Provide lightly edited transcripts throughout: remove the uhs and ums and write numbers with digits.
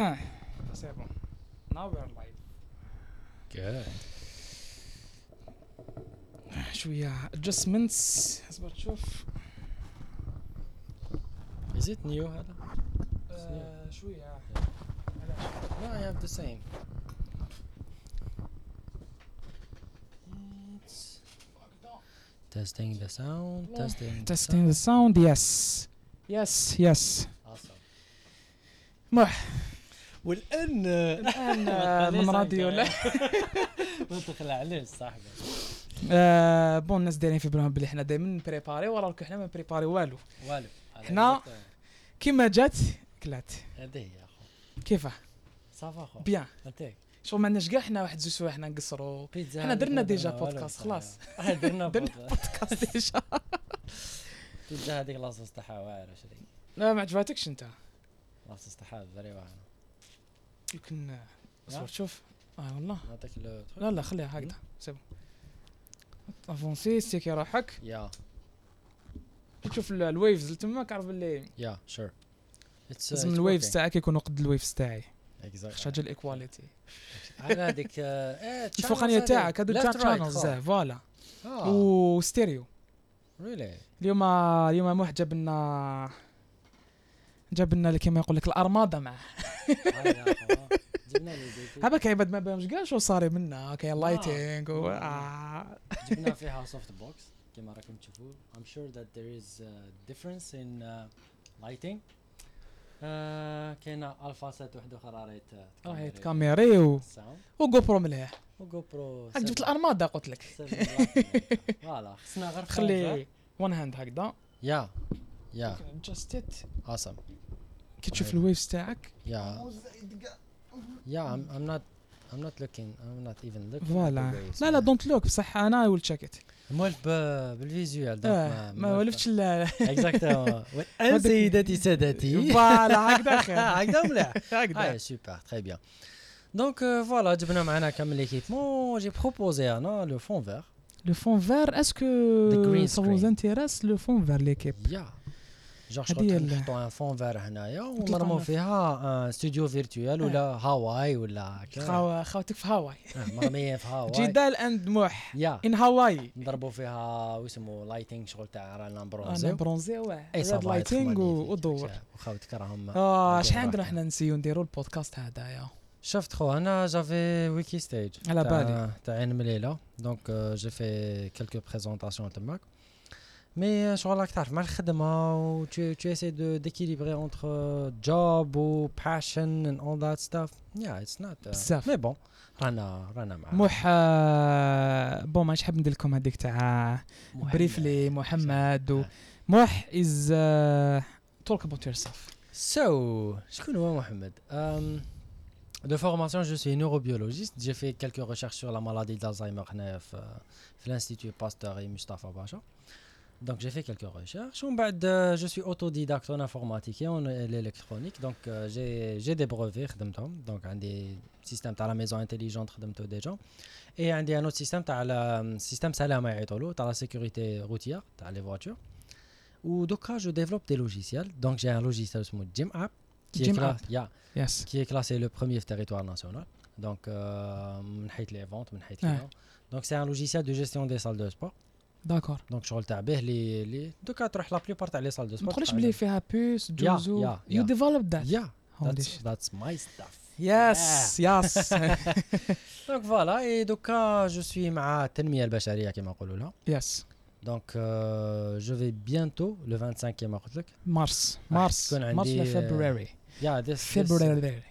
C'est bon. Now we're live. Good. شوية adjustments. اصبر تشوف. Is it new هذا؟ شوية. No, I have the same. It's testing the sound. Testing the sound. Yes. Yes. Awesome. والآن الآن من راديو لا. ما تخلع عليه صاحبي. بون الناس دايرين في بالهم بلي حنا دائما بريباري وراك حنا ما بريباري والو. حنا كيما جات كلات. هذه يا اخو. كيفاه؟ صافا اخو. بيان. انتك. شغل ما عندناش كاع حنا واحد زوج سوايع حنا نقصروا. حنا درنا ديجا بودكاست خلاص. درنا بودكاست ديجا. بيتزا هذيك لاصوص تاعها واعره شري. لا ما عجبتكش انت. لاصوص تاعها فري واعره. يمكن اصبر شوف. والله. نعطيك لا خليها هكذا. سيبو. افونسي سيكي روحك. يا. تشوف الويفز تما كعرف باللي. يا شور. لازم الويفز تاعك يكونوا قد الويفز تاعي. اكزاكتلي. حاجه الايكواليتي. على هذيك الفوقانيه تاعك هادو تاع شانلز فوالا. وستيريو. ريلي. اليوم واحد جاب لنا كيما يقول لك الارماده معاه. جبنا لي هذا كيبد ما بهمش كاع شو صار منا كاين لايتينغ جبنا فيها سوفت بوكس كما راكم تشوفوا. I'm sure that there is a difference in lighting. كاينه الفا سات وحده اخرى راهي كاميري وجو برو مليح وجو برو. جبت الارماده قلت لك فوالا خصنا غير خلي وان هاند هكذا. يا جاست ات awesome. كي تشوف الويفز تاعك I'm not even looking فوالا. لا دونت لوك بصح انا ويل تشيك ات مولف بالفيزيوال ما ولفتش لا اكزاكتومون. سيداتي سادتي فوالا هكذا خير هكذا مليح هكذا سوبر تري بيان. دونك فوالا جبنا معنا كامل ليكيبمون. جي بروبوزي انا لو فون فير. Le fond vert, est-ce que ça vous intéresse le fond vert l'équipe? جور شغل نحطوا ان فون فير هنايا ونرموا فيها استوديو فيرتوال ولا هاواي ولا خاوتك في هاواي. مرميه في هاواي. جدال اند موح ان هاواي. نضربوا فيها واسمو لايتنج شغل تاع رانا برونزي. برونزي ريد لايتنج ودور. وخاوتك راهم شحال عندنا حنا نسيو نديروا البودكاست هذايا. شفت خو انا جافي ويكي ستيج على بالي تاع عين مليله. دونك جي في كلكو بريزونطاسيون تماك. مي شغل راك تعرف مع الخدمه و tu essaies de d'équilibrer entre job و passion and all that stuff. It's not مي بون رانا مع بون ماشي حاب ندير لكم هذيك تاع بريفلي محمد موح is talk about yourself. شكون هو محمد؟ De formation, je suis neurobiologiste. J'ai fait quelques recherches sur la maladie d'Alzheimer à l'Institut Pasteur et Mustafa Bacha. Donc j'ai fait quelques recherches. Je suis autodidacte en informatique et en électronique. Donc j'ai des brevets. Donc un des systèmes à la maison intelligente déjà. Et un autre système à le système Salama Aitolo, à la sécurité routière, à les voitures. Ou donc je développe des logiciels. Donc j'ai un logiciel sur Gym App. Qui est classé le premier territoire national. Donc, les ventes, donc c'est un logiciel de gestion des salles de sport. D'accord. Donc, je regarde donc la plupart des salles de sport. Tu peux faire puce, Juzu. You developed that. That's my stuff. Yes. Donc voilà, et donc je suis مع التنمية البشرية كما يقولوا لها. Yes. Donc je vais bientôt le 25 كما قلت لك. Mars le February. February.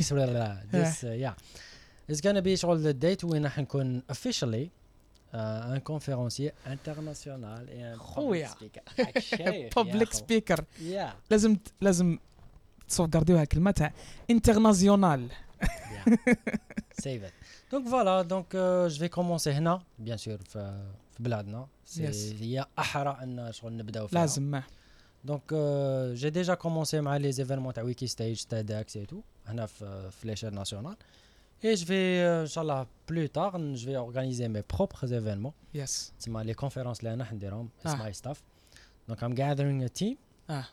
It's gonna be شغل the date وين راح نكون officially un conférencier international et un public speaker. لازم تصوغارديوها الكلمة تاع international. Save it. Donc voilà, je vais commencer هنا bien sûr في بلادنا. هي أحرى أن شغل نبداو فيها. لازم. Donc j'ai déjà commencé مع les événements à Wikistage, TEDx et tout هنا في l'échelle nationale. Et je vais inchallah plus tard je vais organiser mes propres événements. Yes. C'est les conférences là نديرهم. It's my stuff. Donc I'm gathering a team.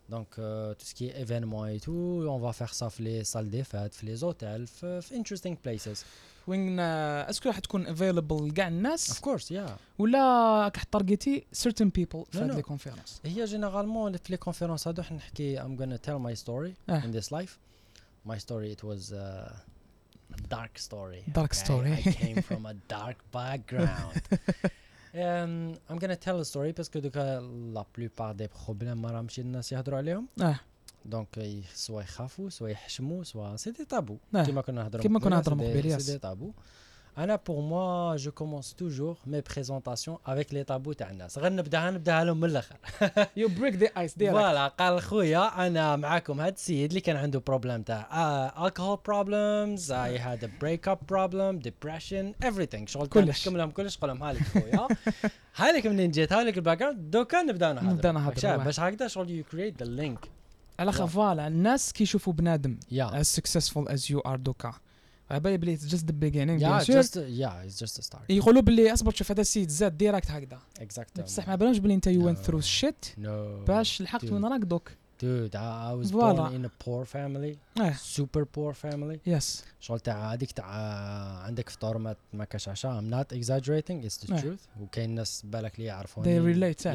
Donc, tout ce qui est événements et tout, on va faire ça في les salles des fêtes, في les hôtels, في interesting places. وين اسكو راح تكون افيلبل لكاع Of الناس course, yeah. ولا راح تارجيتي certain people في هاد no. لي كونفيرونس؟ هي جينيرالمون في les conférences هادو حنا نحكي I'm gonna tell my story in this life. My story, it was a dark story. Dark story. I came from a dark background. I'm gonna tell a story parce que la plupart des problèmes ما راهمش الناس يهضروا عليهم. دونك سوا يخافوا سوا يحشموا سوا سي دي تابو كيما كنا نهضروا قبيل. سي دي تابو. انا pour moi je commence toujours mes présentations avec les tabous تاع الناس. غنبداها لهم من الاخر. You break the ice ديالك. فوالا قال خويا انا معاكم هاد السيد اللي كان عنده بروبليم تاع alcohol problems, I had a breakup problem, depression, everything. شغل نحكم لهم كلش قول لهم هالك خويا هالك منين جيت هالك الباك جراوند دوكا نبداو نهضروا باش هكذا شغل you create the link. على فوالا الناس كيشوفوا بنادم as successful as you are دوكا عبالي بلي just the beginning. it's just a start. يقولوا بلي اصبر شوف هذا السيد زاد ديريكت هكذا بصح ما بالهمش بلي انت you went through shit باش لحقت وين راك دوك. Dude, I was born in a poor family, super poor family. Yes. شغل تاع هذيك تاع عندك فطور ما كاش عشاء. I'm not exaggerating, it's the truth. وكاين ناس بالك لي يعرفوني. They relate.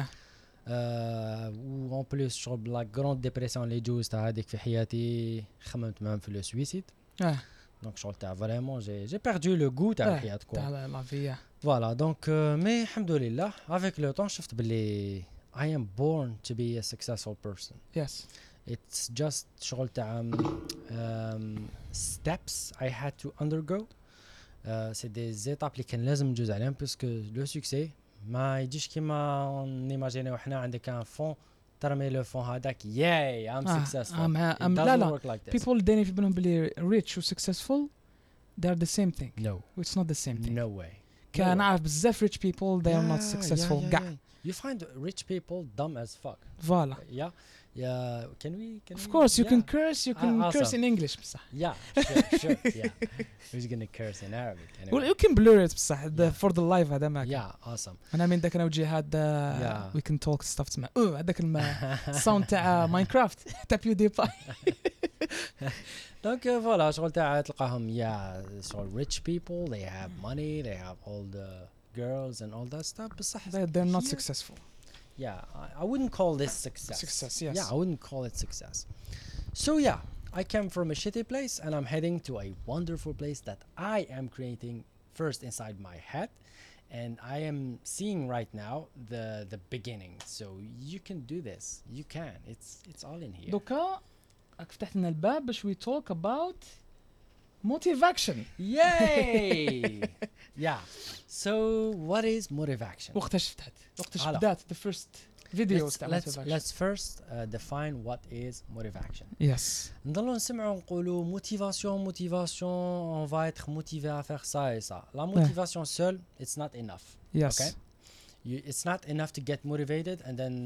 و en plus شغل بلا grande dépression اللي جوز تاع هذيك في حياتي خممت même في le suicide. Donc شغل تاع vraiment j'ai perdu le goût تاع الحياة كوا. تاع la vie. Voilà, donc mais الحمد لله avec le temps شفت بلي I am born to be a successful person. Yes. It's just شغل تاع steps I had to undergo. C'est des étapes اللي كان لازم نجوز عليهم parce que le succès ما يجيش كيما نيماجينيو حنا عندك ان فون ترمي لو فون هذاك yay I'm successful. لا people دايرين في بالهم بلي rich و successful they're the same thing. No. It's not the same thing. No way. كان عارف بزاف rich people they are not successful. You find rich people dumb as fuck. Voilà. Yeah. Can we? Of course, you can curse. You can curse in English, بصح. Yeah, sure. Yeah. Who's gonna curse in Arabic? Anyway. Well, you can blur it بصح for the live هذا ما. Yeah, awesome. أنا من ذاك نوجه هذا we can talk stuff تسمع. هذاك الساوند تاع ماينكرافت تاع PewDiePie. Donc voilà, شغل تاع تلقاهم شغل rich people, they have money, they have all the girls and all that stuff. بصح they're not successful. Yeah, I wouldn't call this success. Success, yes. Yeah, I wouldn't call it success. So yeah, I came from a shitty place and I'm heading to a wonderful place that I am creating first inside my head, and I am seeing right now the beginning. So you can do this. You can. It's all in here. دوكا فتحت لنا الباب باش we talk about motivation. Yay! Yeah. So what is motivation? وقتاش بدات the first videos تاع motivation. Let's first define what is motivation. Yes. نضلوا نسمعوا نقولوا motivation, on va être motivé à faire ça et ça. La motivation seule, it's not enough. Yes. Okay? It's not enough to get motivated and then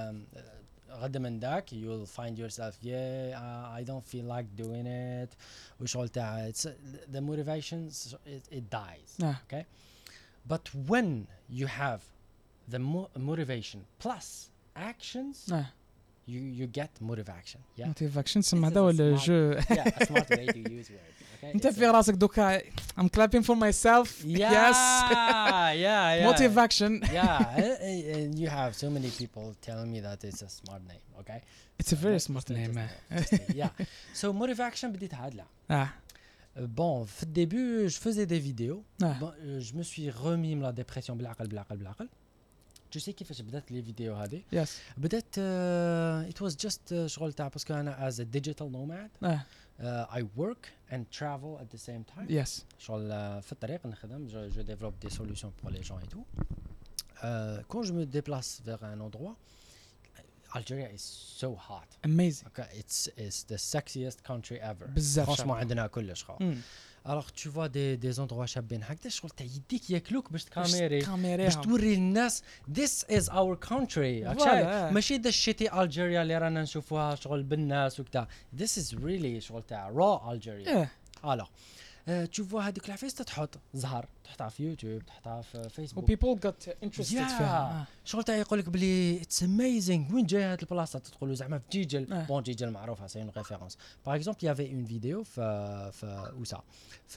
غدا من داك you'll find yourself I don't feel like doing it وشغل تاع the motivation it dies. Okay, but when you have the motivation plus actions you get motivation. motivation سمع هذا ولا جو. a smart way to use word. Okay, انت في راسك دوكا I'm clapping for myself. Yes. Yeah. Motivation. And you have so many people telling me that it's a smart name. Okay, it's a very smart name. Yeah. So motivation بديت هادلا. Bon, في الدébut je faisais des vidéos. Je me suis remis la dépression بالعقل. Tu sais كيفاش بدات لي فيديو هذه؟ Yes. بدات it was just شغل تاع باسكو انا as a digital nomad. I work and travel at the same time. Yes. شغل في الطريق نخدم je développe des solutions pour les gens et tout. Quand je me déplace vers un endroit, Algeria is so hot. Amazing. Okay, it's the sexiest country ever. بزاف. Franchement عندنا كلش خا. Alors tu vois des endroits شابين هكذا شغل تاع يديك ياكلوك باش تكاميري باش توري الناس this is our country. ماشي ذا الشتي ألجيريا اللي رانا نشوفوها شغل بالناس وكذا. This is really شغل تاع raw Algeria. Alors تشوفوا هذيك العفايس تحط زهر تحطها في يوتيوب تحطها في و فيسبوك people got interested فيها شغل تاع يقول لك بلي اتس اميزينغ وين جايه هاد البلاصه تقولوا زعما في جيجل بون جيجل معروفه سي اون ريفيرونس باغ اكزومبل يافي اون فيديو في وسا في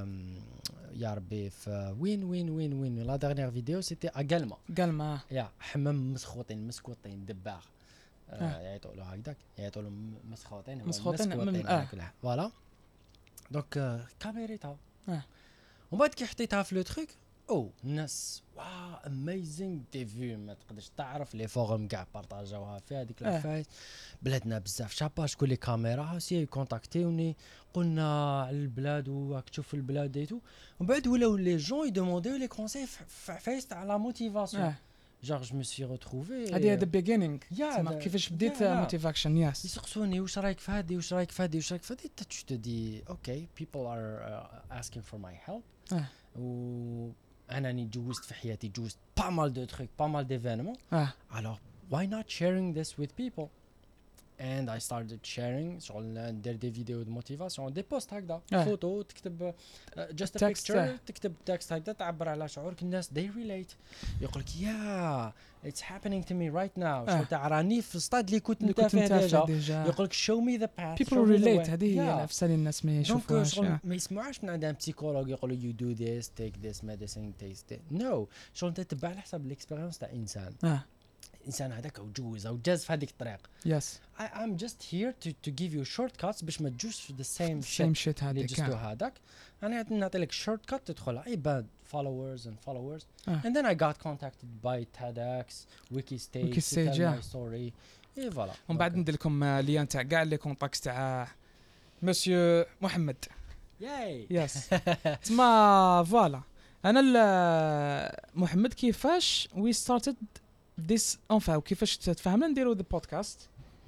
يا ربي في وين لا ديرنيير فيديو سيتي اغالما قال يا حمام مسكوطين دباغ يعيطوا له هكذاك يعيطوا له مسخوطين فوالا دونك كاميريتها ومن بعد كي حطيتها في لو تروك الناس واو اميزينغ دي فيو ما تقدرش تعرف لي فورم كاع بارطاجاوها في هذيك العفايس بلادنا بزاف شابا شكون لي كاميرا سي كونتاكتيوني قلنا على البلاد وراك تشوف البلاد ديتو ومن بعد ولاو لي جون يدومونديو لي كونساي في عفايس تاع لا موتيفاسيون genre je me suis retrouvé هذه the beginning كيفاش بديت موتيفاكشن ياس يسقسوني واش رايك في هذه واش رايك في هذه tu te dis okay people are asking for my help و أنا جوزت في حياتي جوزت pas mal de trucs pas mal d'événements alors why not sharing this with people and I started sharing شغل ندير دي فيديو دو موتيفاسيون دي بوست هكذا فوتو تكتب just a picture تكتب تكست هكذا تعبر على شعورك الناس they relate يقولك yeah it's happening to me right now شغل تاع راني في الستاد اللي كنت انت فيه ديجا يقولك show me the path people relate هذه هي نفس اللي الناس ما يشوفوهاش ما يسمعوش من عند ان بسيكولوج يقولوا you do this take this medicine taste it no شغل انت تتبع على حسب الاكسبيرينس تاع انسان انسان هذاك وجوز او جاز في هذيك الطريق yes I'm just here to give you shortcuts باش ما تجوش في the same shit هذاك هذاك انا نعطي لك shortcut تدخل عباد followers and then I got contacted by TEDx Wikistage to tell my story اي فوالا ومن بعد ندير لكم ليان تاع كاع لي كونتاكت تاع مسيو محمد ياي يس تما فوالا انا محمد كيفاش we started this enfin وكيفاش تفهمنا نديروا ذا بودكاست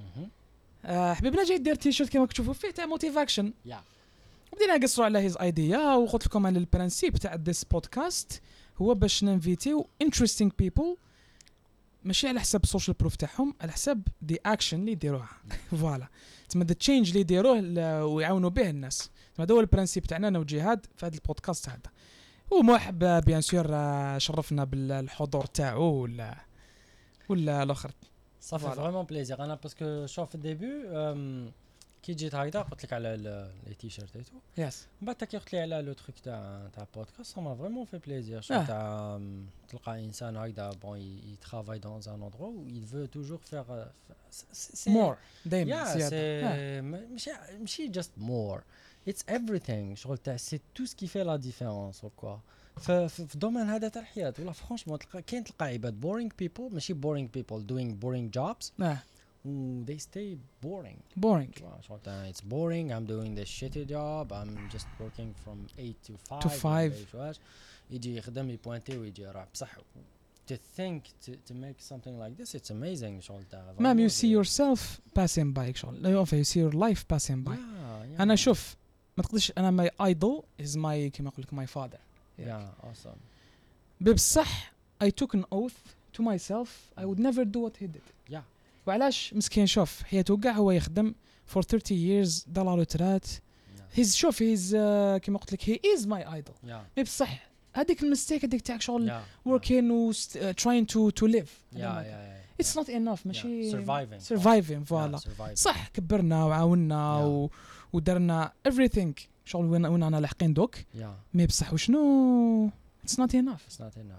حبيبنا جاي دير تيشيرت كما تشوفوا فيه تاع موتيفاكشن بدينا نقصروا على هيز ايديا وقلت لكم على البرانسيب تاع ذيس بودكاست هو باش ننفيتيو interesting people ماشي على حساب السوشيال بروف تاعهم على حساب دي اكشن اللي يديروها فوالا تما ذا تشينج اللي يديروه ويعاونوا به الناس تما هذا هو البرانسيب تاعنا انا وجهاد في هذا البودكاست هذا ومرحب بيان سور شرفنا بالحضور تاعو ولا الاخر صافي فريمون بليزير انا باسكو شوف في الديبي كي جيت هكذا قلت لك على لي تيشيرت ايتو يس من بعد كي قلت لي على لو تروك تاع بودكاست ما فريمون في بليزير شوف تاع تلقى انسان هكذا بون يترافاي دون ان اندرو و il veut toujours faire more دايما زياده ماشي just more it's everything شغل تاع سي تو سكي في لا ديفيرونس كوا في الدومين هذا تاع الحياه ولا فرانشمون تلقى عباد boring people ماشي boring people doing boring jobs they stay boring شغل تاع it's boring I'm doing this shitty job I'm just working from 8 to 5 يجي يخدم يبوينتي ويجي راح بصح to think to make something like this it's amazing شغل تاع مام you see yourself passing by شغل you see your life passing by انا شوف ما تقدرش انا my idol is my كما اقول لك my father awesome بصح I took an oath to myself I would never do what he did وعلاش مسكين شوف حياته كاع هو يخدم for 30 years دار روترات شوف كما قلت لك he is my idol بصح هذيك المستيك هذيك تاعك شغل working و trying to live it's not enough ماشي surviving فوالا صح كبرنا وعاوننا ودرنا everything شغل وين انا لاحقين دوك مي بصح وشنو it's not enough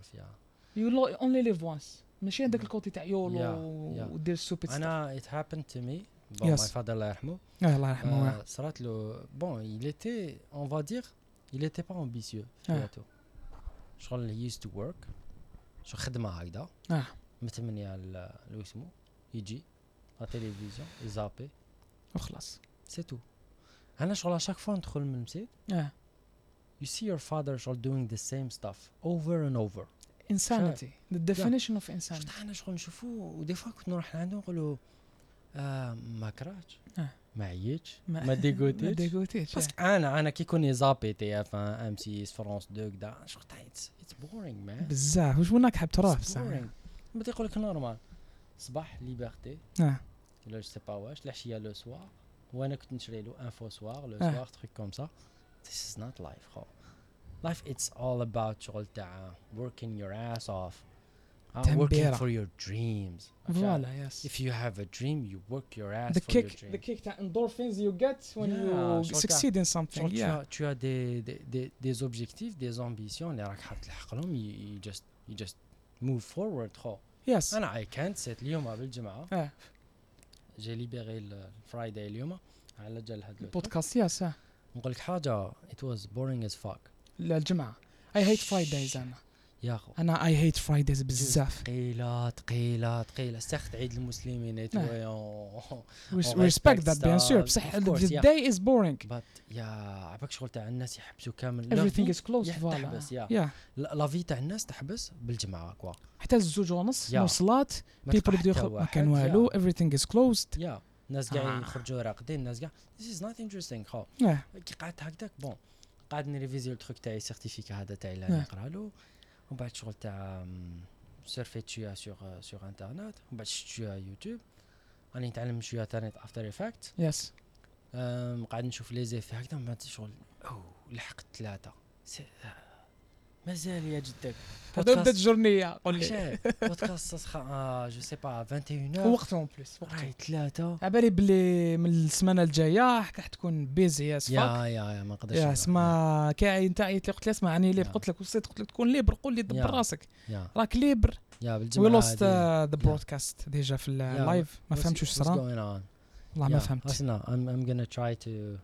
you only live once ماشي عندك الكوتي تاع يولو ودير سوبيت انا it happened to me my father الله يرحمه الله يرحمه صارت له bon il était on va dire il était pas ambitieux في حياته شغل he used to work شو خدمه هكذا متمنيه لو اسمه يجي على التلفزيون يزابي وخلاص سي تو انا شغل شاك فوا ندخل من المسجد you see your father شغل doing the same stuff over and over insanity the definition of insanity انا شغل نشوفه ودي فوا كنت نروح لعنده نقول له ما كرهتش ما عييتش ما ديغوتيش بس انا كي كوني زابي تي اف ام سي فرانس 2 كدا شغل اتس بورينغ مان بزاف واش وناك حاب تروح بصح ما تيقول لك نورمال صباح ليبرتي ولا جو سي با واش العشيه لو سوار وانا كنت نشري له انفو سوار لو سوار تريك كوم سا this is not life خو. Life it's all about شغل تاع working your ass off, working تنبيرة. for your dreams. Voilà, yes. If you have a dream, you work your ass The for your kick, dream. the kick تاع endorphins you get when Yeah, you شغل succeed in something. شغل Yeah. tu as des objectifs, des ambitions اللي راك حاب تلحق لهم. You just move forward خو. Yes. انا I can't sit اليوم بالجمعة. Ah, جي ليبري الفرايداي اليوم على جال هاد podcast. Yes. نقول لك حاجة, it was boring as fuck. الجمعة. I hate Fridays أنا. يا خو I hate Fridays بزاف. ثقيلة استخت عيد المسلمين et We respect that bien sûr. بصح the day is boring. but يا عباك شغل تاع الناس يحبسوا كامل. Everything is closed. تحبس Voilà. يا Yeah. لا في تاع الناس تحبس بالجمعة كوا. حتى الزوج ونص يا. موصلات. People يبدو ما كان والو. Everything is closed. يا الناس قاعد يخرجوا راقدين, الناس قاعد this is not interesting خو. Yeah. كي قعدت هكذاك بون قاعد نريفيزي التروك تاعي سيرتيفيكا هذا تاعي اللي Yeah. نقرا له, ومن بعد شغل تاع سيرفيت شويه سور انترنت, ومن بعد شفت شويه يوتيوب, راني نتعلم شويه تاني افتر افكت. Yes. قاعد نشوف لي زيفي هكذا, من بعد شغل لحقت 3 مازال يا جدك هذا بدات الجورنية قول لي. بودكاست جو سي با 21 وقتهم بليس راهي 3 عبالي بلي من السمانة الجاية راح تكون بيزي يا سفاك. يا ما نقدرش يا اسمع كاين انت عيط لي قلت لي اسمع راني ليبر, يا. قلت لك وصيت قلت لك تكون ليبر, قول لي دبر راسك يا راك ليبر. يا وي بالجمعه لوست هذه. ذا برودكاست ديجا في اللايف ما فهمتش واش صرا والله ما فهمت. Listen, I'm gonna try to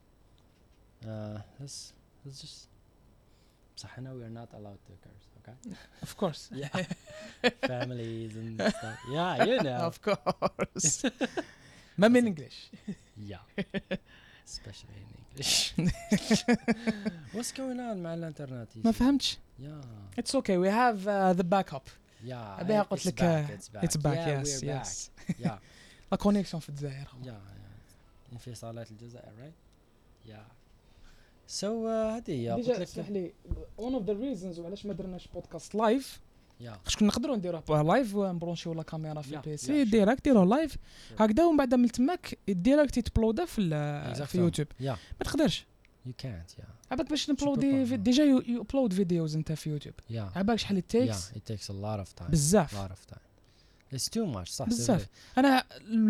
let's just صح هنا we are not allowed to curse, okay? Of course. Yeah. Families and stuff. Yeah, you know. Of course. ما من انجلش. Yeah. Especially in English. What's going on مع الانترنت؟ ما فهمتش. Yeah. It's okay, we have the backup. Yeah. أبيها قلت it's لك back. it's back. Yeah, Yes, we're yes. back. Yeah. لا كونيكسيون في الجزائر. Yeah. انفصالات الجزائر, right? Yeah. So هذه هي قلت ديجا اسمح لك. لي one of the reasons وعلاش ما درناش بودكاست لايف Yeah. خاطر كنا نقدروا نديروه لايف ونبرونشيو لا كاميرا في Yeah, البي yeah, سي sure. ديريكت ديروه لايف هكذا, ومن بعد من تماك الديريكت يتبلودا في يوتيوب. Yeah. ما تقدرش You can't. Yeah. عباك باش peux نبلودي pas. ديجا يو ابلود فيديوز انت في يوتيوب Yeah. عباك شحال التيكس. Yeah. It takes a lot of time. بزاف A lot of time. It's too much. صح. بزاف. انا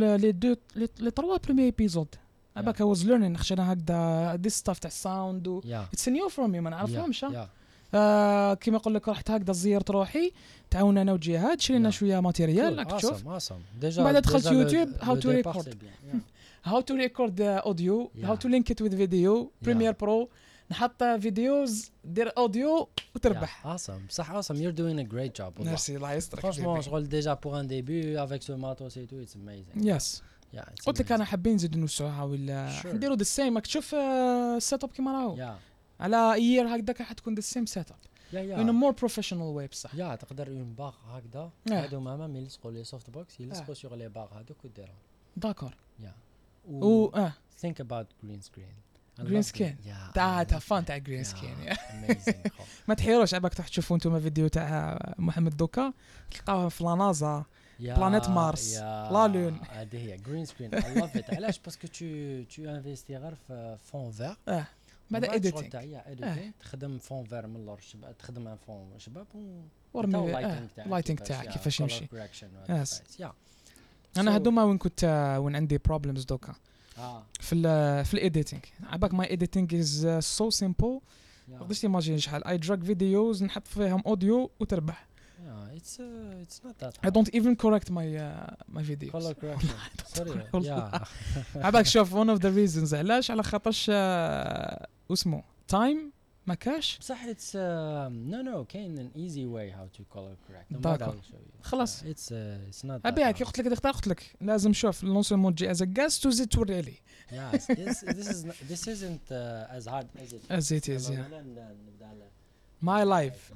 لي 3 بريمي ايبيزود عباك I was learning خشنا هكذا this stuff تاع الساوند و Yeah. it's new for me ما نعرفهمش. Yeah. كيما نقول لك رحت هكذا زيرت روحي تعاون انا وجهاد شرينا Yeah. شويه ماتيريال راك Cool. تشوف. Awesome. Déjà. بعد دخلت déjà يوتيوب, le how to départ, record. c'est bien. Yeah. how to record the audio, Yeah. how to link it with video, Premiere Pro, نحط فيديوز دير اوديو وتربح. Yeah. Awesome. صح. Awesome. You're doing a great job. والله. ميرسي الله يسترك. Franchement, شغل déjà pour un début avec ce matos et tout, it's amazing. يس Yeah. It's قلت لك amazing. انا حابين نزيدو نوسعوها ولا Sure. نديرو ذا سيم. راك تشوف السيت اب كيما راهو Yeah. على يير هكذاك راح تكون ذا سيم سيت اب Yeah. in a Yeah. more professional way بصح. يا تقدر اون باغ هكذا هادو ماما يلصقوا لي سوفت بوكس يلصقوا سيغ لي باغ هادوك وديرهم. داكور. يا و think about green screen. جرين سكين تاع فان تاع جرين سكين. amazing. ما تحيروش عباك تروح تشوفوا انتم فيديو تاع محمد دوكا تلقاوه في لانازا بلانيت مارس لا لون. هذه هي جرين سكرين. I love it. علاش باسكو tu انفيستي غير في فون فير بعد اديتينغ اديتينغ تخدم فون فير من اللور شباب, تخدم ان فون شباب ورمي لايتنج تاعك كيفاش يمشي. يس. انا هذوما وين كنت وين عندي بروبلمز دوكا في الايديتينغ عباك ماي ايديتينغ از سو سيمبل. ما تقدرش تيماجين شحال اي دراج فيديوز نحط فيهم اوديو وتربح. it's not that I don't even correct my videos. color correction. sorry. والله. عباك شوف one of the reasons علاش على خاطرش اسمه تايم ما كاش. بصح it's no كاين an easy way how to color correct. D'accord. خلاص. it's not ابيها كي قلت لك اختار قلت لك لازم شوف نون سولمون تجي از غاز تزيد توري لي yes this isn't as hard as it is. يلا Yeah. نبدا على my life.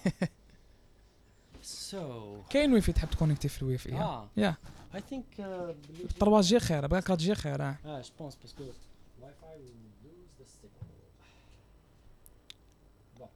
so كاين ويفي تحب تكونيكتي في الويفي. يا I think 3 جي خير بقى 4 جي خير. je pense parce que Wi-Fi will lose the signal. Bon.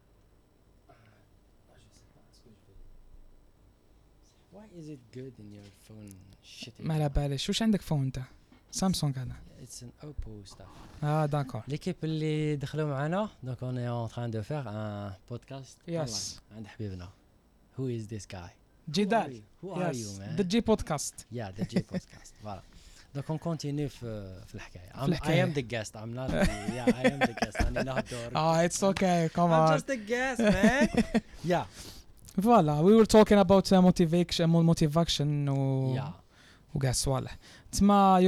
Je sais pas ce que je vais. Why is it good in your phone? Shit. ما على باليش واش عندك فون انت. سامسونج هذا. It's an Oppo stuff. داكور. L'équipe اللي دخلوا معنا donc on est en train de faire un podcast Yes. عند حبيبنا. Who is this guy? جدال. Who are you man? The G podcast. Yeah, the J podcast. Voilà. Donc on continue في الحكاية. الحكاية. I am the guest. I'm not. Yeah, I am the guest. أنا نهدر. It's okay. Come I'm on. just a guest, man. Yeah. Voilà, we were talking about motivation Yeah. وكاع الصوالح. تسمى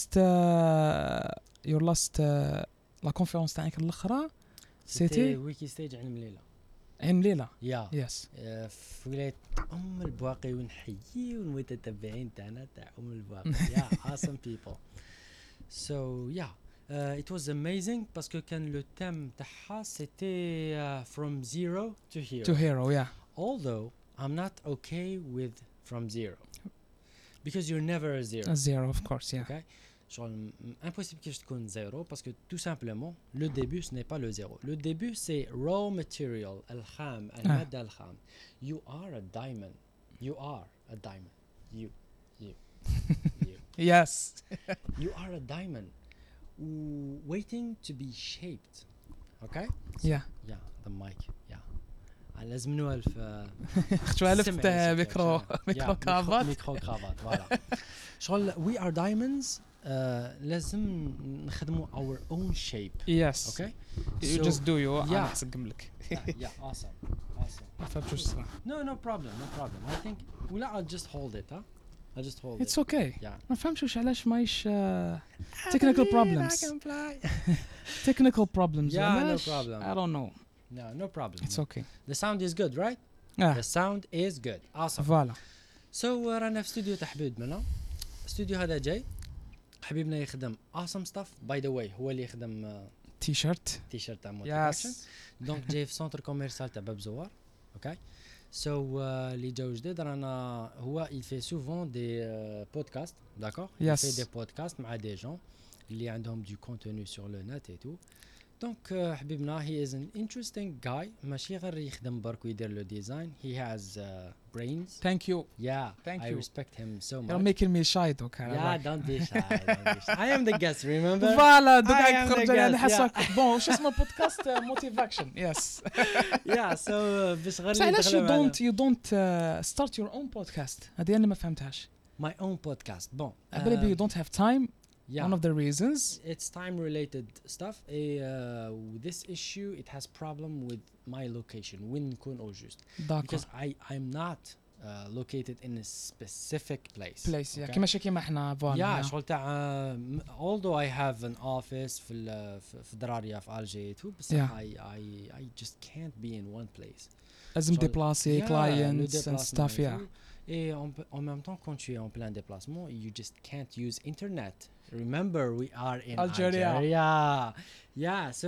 your last لا كونفيرونس تاعك الاخرى سيتي ويكي ستيج عين مليلة. عين ليلة. يا يس. في ولاية البواقي ونحيي والمتتبعين تاعنا تاع البواقي. Yeah, awesome people. So yeah, it was amazing parce que كان le thème تاعها c'était from zero to hero. To hero, yeah. Although I'm not okay with from zero because you're never a zero. A zero, of course, yeah. Okay. شغل impossible que je تكون zéro parce que tout simplement le début ce n'est pas le zéro. Le début c'est raw material الخام المادة الخام. You are a diamond. You are a diamond. You. Yes. You are a diamond waiting to be shaped. Okay? Yeah. Yeah, the mic. Yeah. لازم نوالف اختو الفت ميكرو كرافات. ميكرو كرافات فوالا. شغل we are diamonds. لازم نخدموا our own shape. Yes. Okay? You So- just do you. Yeah. أنا حسقم لك. Yeah, awesome. ما فهمتش واش صرا. No problem. I think ولا I'll just hold it, huh? I'll just hold It's it. okay. Yeah. ما فهمتش واش علاش مايش technical problems. I can fly. Technical problems. Yeah, no علاش؟ problem. I don't know. No problem. It's okay. The sound is good, right? The sound is good. Awesome. فوالا. So رانا في استوديو تاع حبيبنا. الاستوديو هذا جاي حبيبنا يخدم awesome stuff. By the way هو اللي يخدم تي شيرت. تيشيرت تاع موتيفيشن. Yes. دونك جاي في سنتر كوميرسال تاع باب زوار. اوكي سو اللي جاو جديد رانا هو il fait souvent des podcasts, d'accord? Il Yes. fait des podcasts مع des gens اللي عندهم du contenu sur le net et tout. دونك حبيبنا he is an interesting guy. ماشي غير يخدم برك ويدير له ديزاين. He has brains. Thank you. Yeah, Thank I you. respect him so much. You're making me shy though. Yeah, don't be shy. I am the guest, remember? فوالا دوك I am قاعد the تخرج انا guest, حاسك بون واش اسمه بودكاست موتيفاكشن. يس. Yeah, so باش غير بس علاش يدخلوا معنا. you don't start your own podcast؟ هذه انا ما فهمتهاش. My own podcast. Bon. I believe you don't have time. Yeah. One of the reasons. It's time related stuff. This issue it has problem with my location. وين نكون au juste. داكور. Because I'm not located in a specific place. بليس Okay? كيما احنا فوالا. Yeah, شغل تاع although I have an office في دراريا في Alger too, but Yeah. I just can't be in one place. لازم شغل- ديبلاسي Yeah, le clients and déplacement stuff. et Yeah. tout. Et en même temps, quand tu es en plein déplacement, you just can't use internet. Remember, we are in Algeria. Yeah, so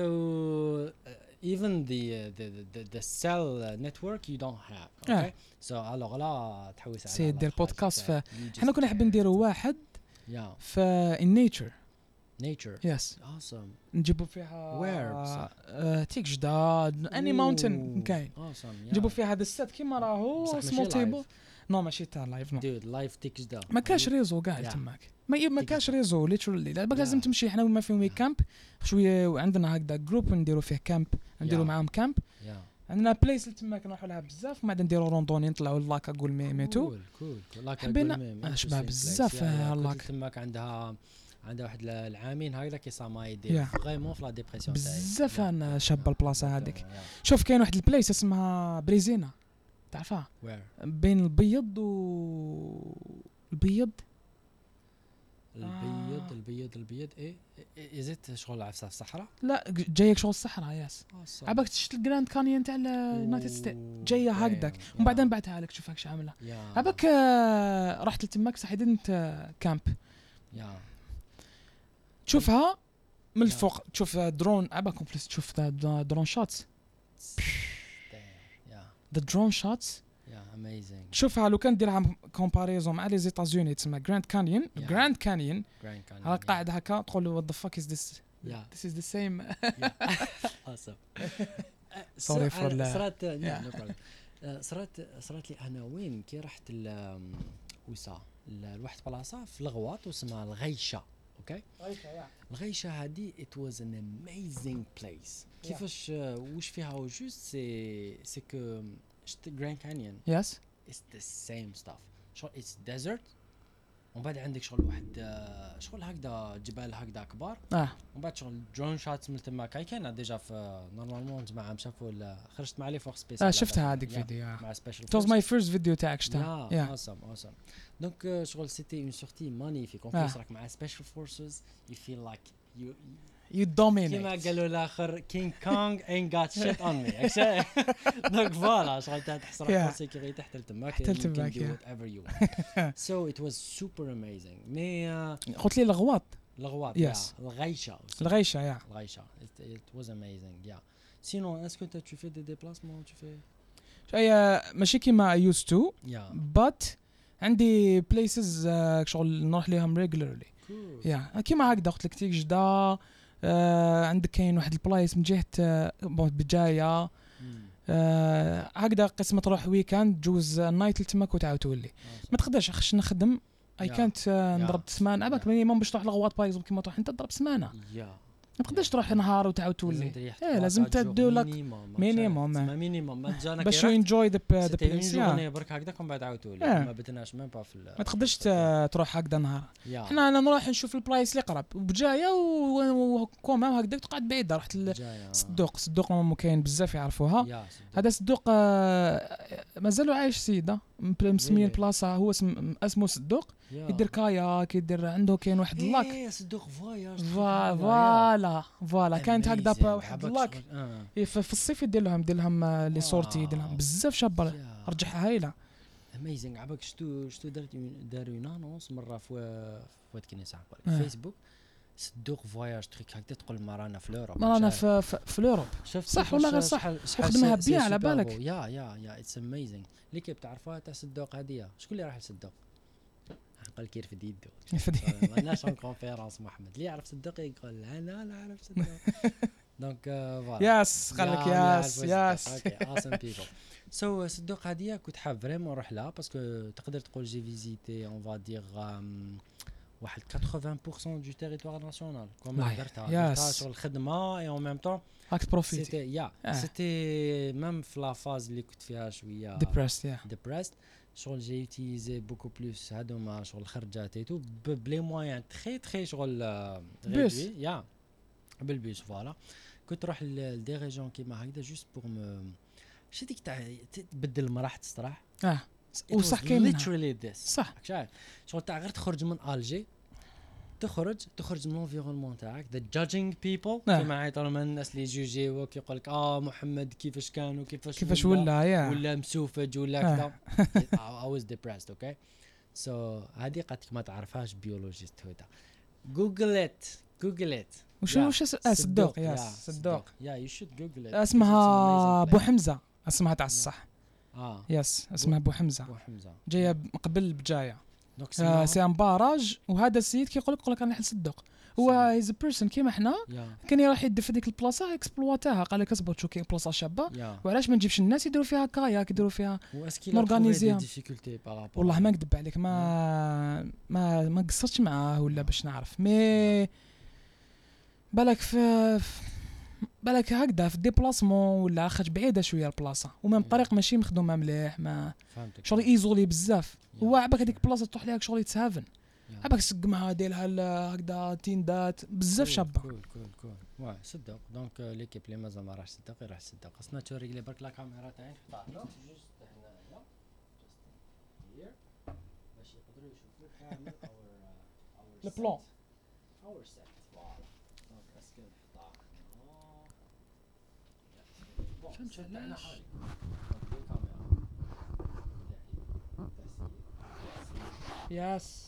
even the cell network you don't have. Okay. So alors là, تحوس على سي دير الحاجة بودكاست تاع- ف you just احنا كنا حابين can't. نديروا واحد Yeah, في in nature. nature. Yes. Awesome. نجيبوا فيها Where بصح؟ تيك جداد اني ماونتن Ooh, كاين. Awesome. Yeah. نجيبوا فيها هذا السيت كيما راهو بصح ماشي سمول تيبل. live. نو ماشي تاع لايف نو. Dude, live تكجدا. ما كاش ريزو كاع Yeah. تماك. ما كاش ريزو ليترالي. دابا Yeah. لازم تمشي حنا وما فيهم كامب شويه وعندنا هكذا جروب نديروا فيه كامب نديروا Yeah. معاهم كامب. Yeah. عندنا بليس اللي تماك نروحوا لها بزاف وما نديروا روندوني نطلعوا لاكا قول ميتو. cool. لاك حبينا شباب بزاف لاك. تماك عندها واحد العامين هكذا كي صا يدير Yeah. فريمون في لا ديبرسيون بزاف انا شابه البلاصه هذيك. شوف كاين واحد البليس اسمها بريزينا تعرفها وير بين البيض البيض. البيض ايه ازيت شغل عفسه في الصحراء. لا جايك شغل الصحراء ياس. عباك تشت الجراند كانيون تاع اليونايتد ستيت جايه هكذاك ومن بعدين بعتها لك شوف هاك عامله. عباك رحت لتماك صح دنت كامب تشوفها من الفوق تشوف درون عباك كومبليس تشوف درون شوتس. ذا درون شوتس اميزينغ. شوفها لو كان ديرها كومباريزون مع لي زيتازوني تسمى جراند كانيون. جراند كانيون ها قاعد هكا تقول له وات ذا فاك از ذس. This is the same. awesome. Sorry for صرات لي انا وين كي رحت وسا لواحد بلاصه في الغواط واسمها الغيشه. اوكي. الغيشه هذه it was an amazing place. كيفاش وش فيها وجوست سي كو شفت جراند كانيون يس it's the same stuff. شغل it's desert ومن بعد عندك شغل واحد شغل هكذا جبال هكذا كبار ومن بعد شغل درون شاتس من تما كاين ديجا في نورمالمون جماعه شافوا خرجت مع لي فور سبيسيال شفتها هذيك فيديو مع سبيشال it was my first video تاعك شفتها awesome دونك شغل سيتي اون سورتي مانيفيك اون بليس راك مع سبيشال فورسز you feel like you dominate كيما قالوا الاخر كينج كونغ ain't got shit on me دونك فوالا شغل تحس روحك في سيكوريتي حتى تماك whatever you want so it was super amazing مي قلت لي الغواط الغيشه الغيشه it was amazing sinon est-ce que tu fais des déplacements tu fais ماشي كيما I used to but عندي places شغل نروح لهم regularly كيما هكذا قلت لك تيك جدة عندك كاين واحد البلايص من جهة بجاية هكذا قسمة تروح ويكاند جوز نايت لتماك وتعاود تولي ما تقدرش خش نخدم اي كانت نضرب سمانه عباك مينيموم باش تروح لغواط بايزو كيما تروح انت تضرب سمانه ما تقدرش تروح نهار وتعاود تولي لازم تدو لك مينيموم باش يو انجوي ذا بليس برك هكذاك ومن بعد عاود تولي ما بدناش ميم با في ما تقدرش تروح هكذا نهار حنا انا نروح نشوف البلايص اللي قرب بجايه وكوما هكذاك تقعد بعيده رحت صدوق ما كاين بزاف يعرفوها هذا صدوق مازالوا عايش سيده مسمين البلاصه هو اسمه صدوق يدير كاياك يدير عنده كاين واحد اللاك صدوق فواياج فوالا كانت هكذا واحد اللاك في الصيف يدير لهم لي سورتي يدير لهم بزاف شابه رجعها هايله اميزنج عباك شتو داروا نانونس مره في كنيسه في فيسبوك صدوق فواياج تريك هكذا تقول مرانا في لوروب مرانا في لوروب صح ولا غير صح خدمها بيان على بالك يا اتس اميزنج ليكيب تعرفوها تاع صدوق هذه شكون اللي راح لصدوق قال كير في ديدو ما لناش اون كونفيرونس محمد اللي يعرف صدوق يقول انا لا اعرف صدوق دونك فوالا يس قال لك يس اوكي awesome people سو صدوق هذه كنت حاب فريمون نروح لها باسكو تقدر تقول جي فيزيتي اون فا دير واحد 80% دو تيريتوار ناسيونال كوم درتها شغل الخدمه اي اون ميم طون راك بروفيتي سيتي ميم في لا فاز اللي كنت فيها شويه ديبرست شغل جي يوتيليزي بوكو بلوس هادوما شغل الخرجات ايتو بلي موان تري شغل غيدوي بالبيس فوالا كنت نروح لدي ريجون كيما هكذا جوست بور شي ديك تاع تبدل المراح تستراح وصح كاين literally this صح شغل تاع غير تخرج من الجي تخرج من الانفيرونمون تاعك ذا جادجينج بيبل كيما عيطوا من الناس اللي يجوجيوك يقول لك محمد كيفاش كان وكيفاش ولا مسوفج ولا كذا I was depressed okay so هذه قالت ما تعرفهاش بيولوجيست هدا جوجل ات وش صدوق صدوق you should google it اسمها بو حمزه اسمها تاع الصح يس اسمها بو حمزه جايه قبل بجايه سي ان باراج وهذا السيد كيقول لك انا نحل صدق هو هيز بيرسون كيما حنا كان يروح يدير في ديك البلاصه اكسبلواتاها قال لك اصبر شو كاين بلاصه شابه وعلاش ما نجيبش الناس يديروا فيها كاياك يديروا فيها نورغانيزيها والله ما نكذب عليك ما قصرتش معاه ولا باش نعرف مي بالك هكذا في الديبلاسمون ولا خرج بعيده شويه البلاصه ومام الطريق ماشي مخدومه مليح ما شغل ايزولي بزاف هو عباك هذيك البلاصه تروح ليها شغل يتسهفن عباك سقمها ديرها هكذا تيندات بزاف شابه كول واه صدق دونك ليكيب اللي مازال ما راحش صدق يروح صدق خصنا توريك لي برك لا كاميرا تاعي نحطها جوست هنايا هير باش يقدروا يشوفوا كامل لو بلان اور سيت فوالا دونك اسكو نحطها فهمت انا حالي يس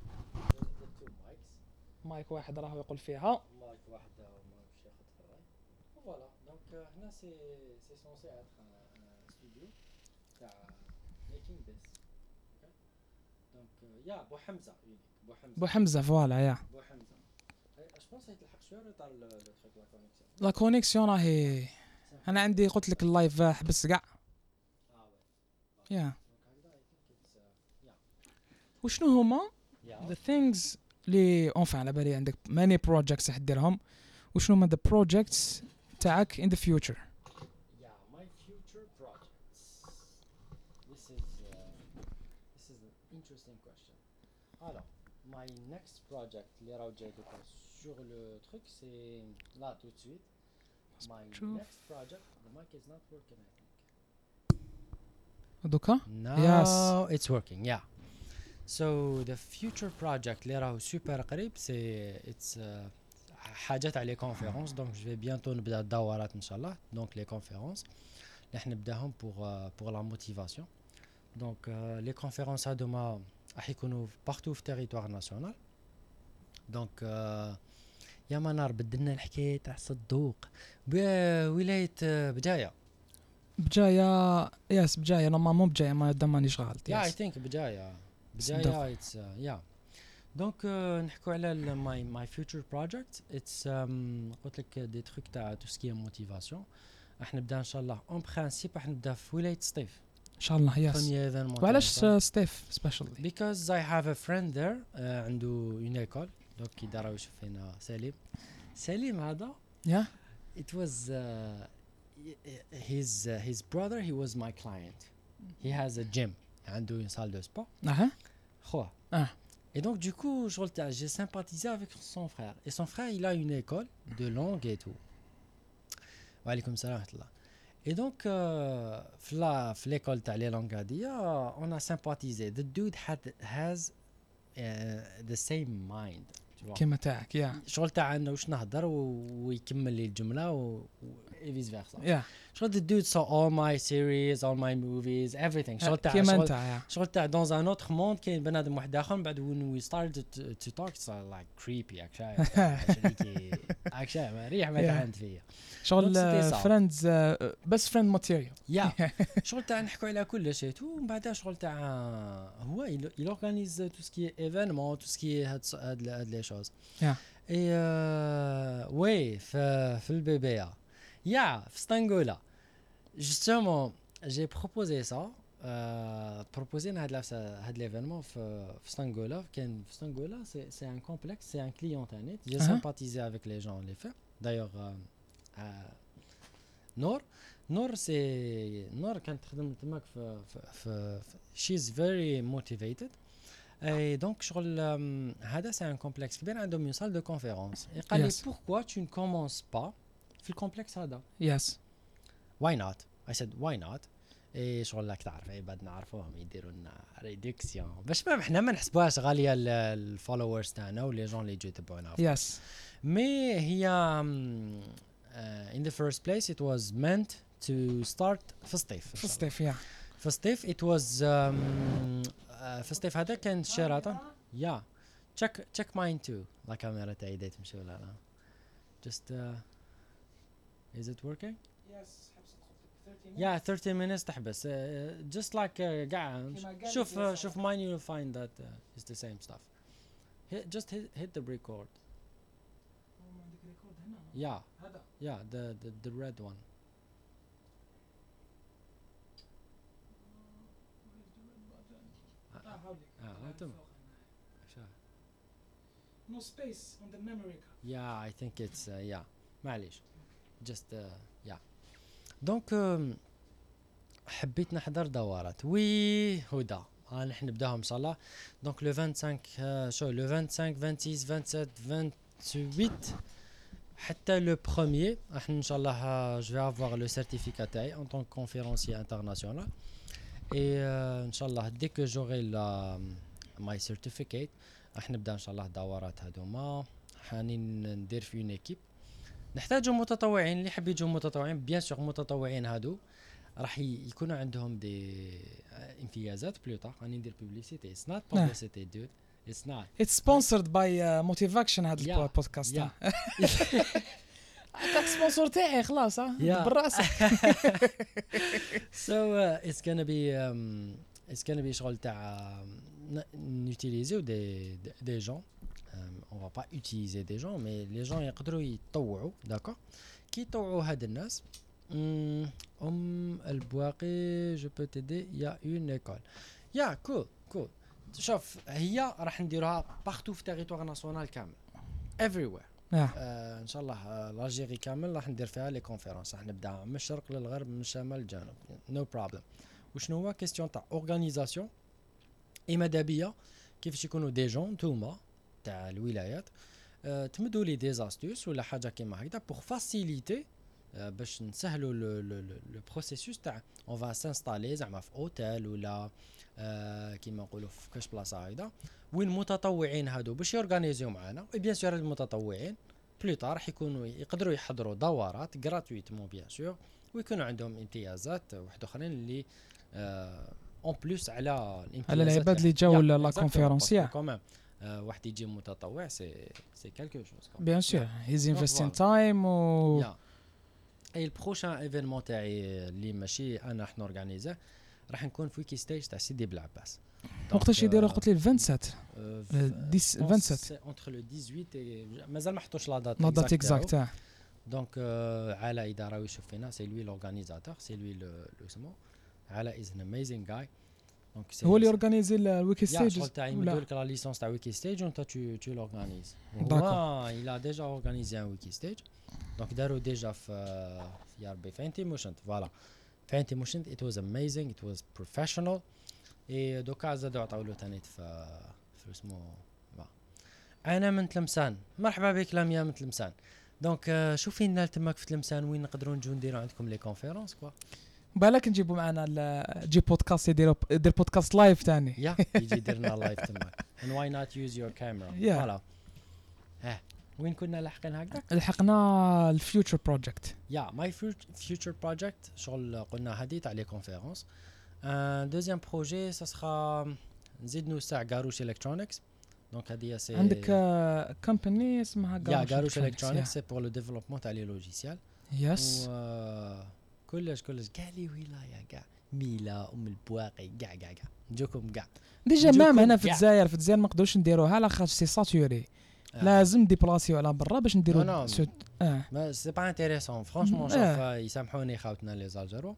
مايك واحد راهو يقول فيها مايك واحد ماهوش ياخذ في الراي فوالا دونك هنا سي سونسي اتر ستوديو تاع ميكينغ ذيس اوكي دونك يا بو حمزه فوالا بو حمزه اش بونس يتلحق شويه ريطار لو تريك لا كونيكسيون راهي انا عندي قلت لك اللايف حبس كاع يا وشنو هما the things لي اونفان على بالي عندك ماني بروجيكتس حديرهم، وشنو هما ذا بروجيكتس تاعك in the future. Yeah, my future projects. This is an interesting question. Alors, my next project اللي راهو جاي دوكا sur le truc c'est là tout de suite. My شوف. next project, the mic is not working I think. دوكا Now it's working, yeah. So the future project اللي راهو سوبر قريب it's حاجات على conférences, donc je vais bientôt نبدا الدورات ان شاء الله. Donc les conférences اللي احنا نبداهم pour la motivation. Donc les conférences هادوما راح يكونوا partout في territoire national. Donc يا منار بدلنا الحكايه تاع صدوق بولايه بجايه. بجايه ياس بجايه نورمالمون بجايه ما دام مانيش غلط. Yeah, I think بجايه صدق. it's yeah. Donc نحكوا على my future project. It's قلت لك دي تروك تاع tout ce qui est motivation. راح نبدا ان شاء الله اون برانسيب راح نبدا في ولايه سطيف. ان شاء الله ياس. premier événement. وعلاش ستيف سبيشالي؟ Because I have a friend there عنده une école. donc يدار يشوف هنا سليم هذا. Yeah. It was his brother, he was my client. He has a gym عنده une salle de sport. خوه. Et donc du coup j'ai sympathisé avec son frère. Et son frère il a une école de langue et tout. Wa alaykoum salam wa rahmatullah. Et donc في l'école تاع les langues هادية on a sympathisé. The dude has the same mind. كيما تاعك يا شغل تاعنا واش نهضر ويكمل لي الجمله و فيس فيرسا. يا شغل the dude saw all my series, all my movies, everything. شغل تاع كيما انت يا شغل تاع dans un autre monde كاين بنادم واحد اخر. من بعد when we started to talk it's like creepy اكشاي ريح ما تعند فيا شغل فريندز بس فريند ماتيريال. يا شغل تاع نحكوا على كل شيء ومن بعد شغل تاع هو il organise tout ce qui est événement, tout ce qui est هاد les choses. اي وي في البيبيا يا في ستانغولا justement j'ai proposé ça proposé هاد l'événement في ستانغولا. كان في ستانغولا c'est un complexe, c'est un client internet. J'ai sympathisé avec les gens les faire d'ailleurs. نور سي نور كانت تخدم تماك في she's very motivated. Et donc شغل هذا c'est un complexe كبير عندهم une salle de conférence. Et قال لي pourquoi tu ne commences pas في الكومبلكس هذا. Yes. Why not? I said why not. اي شغل لك تعرف عباد نعرفوهم يديروا لنا ريدكسيون باش ما احنا ما نحسبوهاش غاليه الفولورز تاعنا ولي جون اللي يجوا يتبعونا. Yes. مي هي in the first place it was meant to start في الصيف. في الصيف يا في الصيف it was في الصيف هذا كان شيراتون. يا check mine too. لا كاميرا تاعي دايت مشي ولا لا. just is it working? Yes. Yeah, 30 minutes تحبس. Just like قاعد شوف mine you'll find that it's the same stuff. Just hit the record. Yeah. Yeah, the red one. No space on the memory card. Yeah, I think it's yeah. معليش. Just yeah. Donc حبيت نحضر دورات. وي هدى نحن نبداهم ان شاء الله. Donc le 25 شو le 25 26 27 28 حتى le premier احنا ان شاء الله je vais avoir le certificat تاعي en tant que conférencier international. Et ان شاء الله dès que j'aurai my certificate راح نبدا ان شاء الله دورات هذوما. حانين ندير في une équipe. نحتاجوا متطوعين اللي يحب يجوا متطوعين. بيان سور متطوعين هادو راح يكونوا عندهم دي امتيازات بلوطا. راني ندير بوبليسيتي. اتس نوت بوبليسيتي دود. اتس نوت. اتس سبونسرد باي موتيفاكشن هذا البودكاست. عطاك سبونسور تاعي خلاص بالراس. So it's gonna be شغل تاع نوتيليزيو des gens. On va pas utiliser des gens mais les gens يقدروا يتطوعوا. d'accord كي يطوعوا هاد الناس البواقي je peux t'aider. il y a une école. yeah cool شوف هي راح نديروها بارتو في تيريتوار ناسيونال كامل everywhere. ان شاء الله الجيري كامل راح ندير فيها لي كونفيرونس، راح نبدا من الشرق للغرب من الشمال للجنوب نو بروبليم. وشنو هو كيستيون تاع اورغانيزاسيون اي مدابيه كيفاش يكونوا دي جون نتوما تاع الولايات تمدوا لي دي زاستوس ولا حاجه كيما هكذا بور فاسيليتي باش نسهلوا لو بروسيسوس تاع اون فا سانستالي زعما في اوتيل ولا كيما نقولوا في كاش بلاصه هكذا وين المتطوعين هادو باش يورغانيزيو معانا. اي بيان سور المتطوعين بلوطار راح يكونوا يقدروا يحضروا دورات غراتويتمون بيان سور ويكونوا عندهم امتيازات واحد اخرين اللي اون بلوس على العباد اللي جاوا لا كونفيرونس يا كمان واحد يجي متطوع سي كالكو شوز بيان سور هيز انفستين تايم و اي البروشان ايفينمون تاعي اللي ماشي انا حنا اورغانيزه راح نكون في ويكي ستيج تاع سيدي بلعباس. وقتاش يديروا قلت لي 27 27 اونتر لو 18 مازال ما حطوش لا لا دات اكزاكت. دونك علاء اذا راهو يشوف فينا سي لوي لورغانيزاتور سي لوي لو اسمو علاء از ان اميزينغ جاي. دونك هو اللي اورغانيزي الويكي ستيج شغل تاعي مدولك لا ليسونس تاع ويكي ستيج وانت تو لورغانيز. داكور il a déjà organisé un wiki stage donc داروا ديجا في يا ربي في انتيموشنت فوالا في انتيموشنت it was amazing it was professional اي دوكا زادوا عطاو له ثاني في اسمه انا من تلمسان. مرحبا بك لاميا من تلمسان. دونك شوفي لنا تماك في تلمسان وين نقدروا نجوا نديروا عندكم لي كونفيرونس كوا بالك نجيبوا معنا جي بودكاست يدير بودكاست لايف ثاني يا يجي يديرنا لايف تماك and why not use your camera فوالا. وين كنا لاحقين هكذا؟ لحقنا الفيوتشر بروجكت يا ماي فيوتشر بروجكت شغل قلنا هذه تاع لي كونفيرونس. دوزيام بروجي سا سخا نزيد نوسع غاروش الكترونكس. دونك هذه سي عندك كومباني اسمها غاروش الكترونكس سي بور لو ديفلوبمون تاع لي لوجيسيال يس كلش كاع لي ولايه كاع ميلا البواقي كاع نجوكم كاع ديجا مام هنا في الجزائر ما نقدروش نديروها على خاطر سي ساتوري لازم ديبلاسيو على برا باش نديرو ما سي با انتريسون فرانشمون شوف يسامحوني خاوتنا لي زالجيرو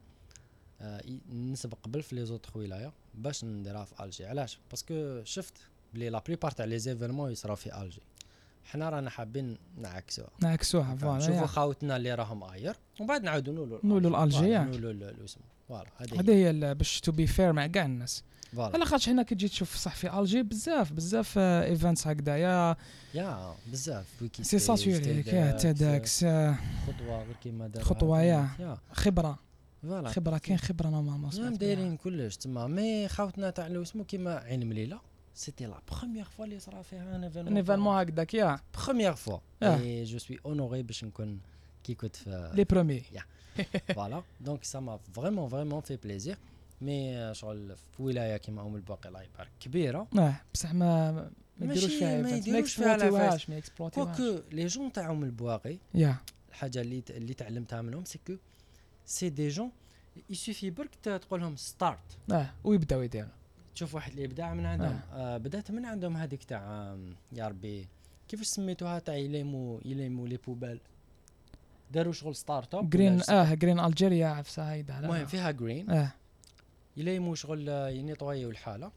نسبق قبل في لي زوطخ ولايه باش نديرها في الجي. علاش؟ باسكو شفت بلي لا بليبار تاع لي زيفينمون يصراو في الجي حنا رانا حابين نعكسوها فوالا نشوفوا خاوتنا اللي راهم اير ومن بعد نعاودوا نولوا الجي نولوا اسمه فوالا هذه هي باش تو بي فير مع كاع الناس. على خاطر حنا كي تجي تشوف صح في الجي بزاف ايفنتس هكذايا يا بزاف ويكي سي ساتوري تيدكس خطوه غير كيما دار خطوه يا خبره فوالا خبره كاين خبره نورمالمون دايرين كلش تما مي خاوتنا تاع لو اسمو كيما عين مليله سيتي لا بروميير فوا اللي صرا فيها ان ايفينمون هكذاك يا بروميير فوا اي جو سوي اونوري باش نكون كي كنت في لي برومي فوالا. دونك سا ما فريمون في بليزير مي شغل في ولايه كيما الباقي الله يبارك كبيره بصح ما يديروش فيها ما اكسبلوتيوهاش كوكو لي جون تاع البواقي يا الحاجه اللي تعلمتها منهم سكو سي دي جون يسوفي برك تقول لهم ستارت ويبداو يديروا. تشوف واحد الابداع من عندهم بدات من عندهم هذيك تاع يا ربي كيفاش سميتوها تاع يليمو لي بوبال داروا شغل ستارت اب جرين جرين الجيريا عفسه هيدا المهم فيها جرين يليمو شغل ينيطويو الحاله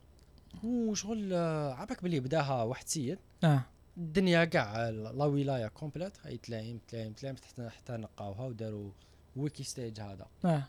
وشغل عباك بلي بداها واحد سيد الدنيا كاع لا ولايه كومبليت هي تلايم حتى نقاوها وداروا ويكي ستيج هذا.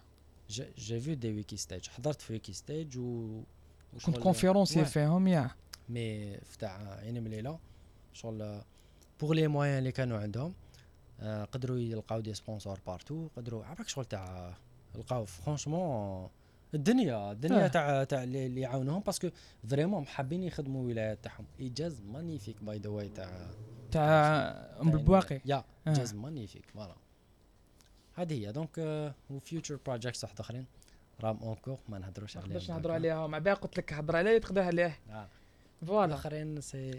جي فيو دي ويكي ستيج حضرت في ويكي ستيج كنت كونفيرونسي فيهم يا مي تاع عين مليله شغل بور لي موين اللي كانوا عندهم قدروا يلقاو دي سبونسور بارتو قدروا عباك شغل تاع لقاو فرانشمون الدنيا تاع اللي يعاونوهم باسكو فريمون حابين يخدموا ولايات تاعهم. ايجاز مانيفيك باي ذا واي تاع البواقي يا ايجاز مانيفيك فوالا هذه هي. دونك وفيوتشر بروجيكتس واحد اخرين رام اونكور ما نهضروش عليهم باش نهضروا عليها مع باقي قلت لك هضر عليه تقدر عليه فوالا اخرين سي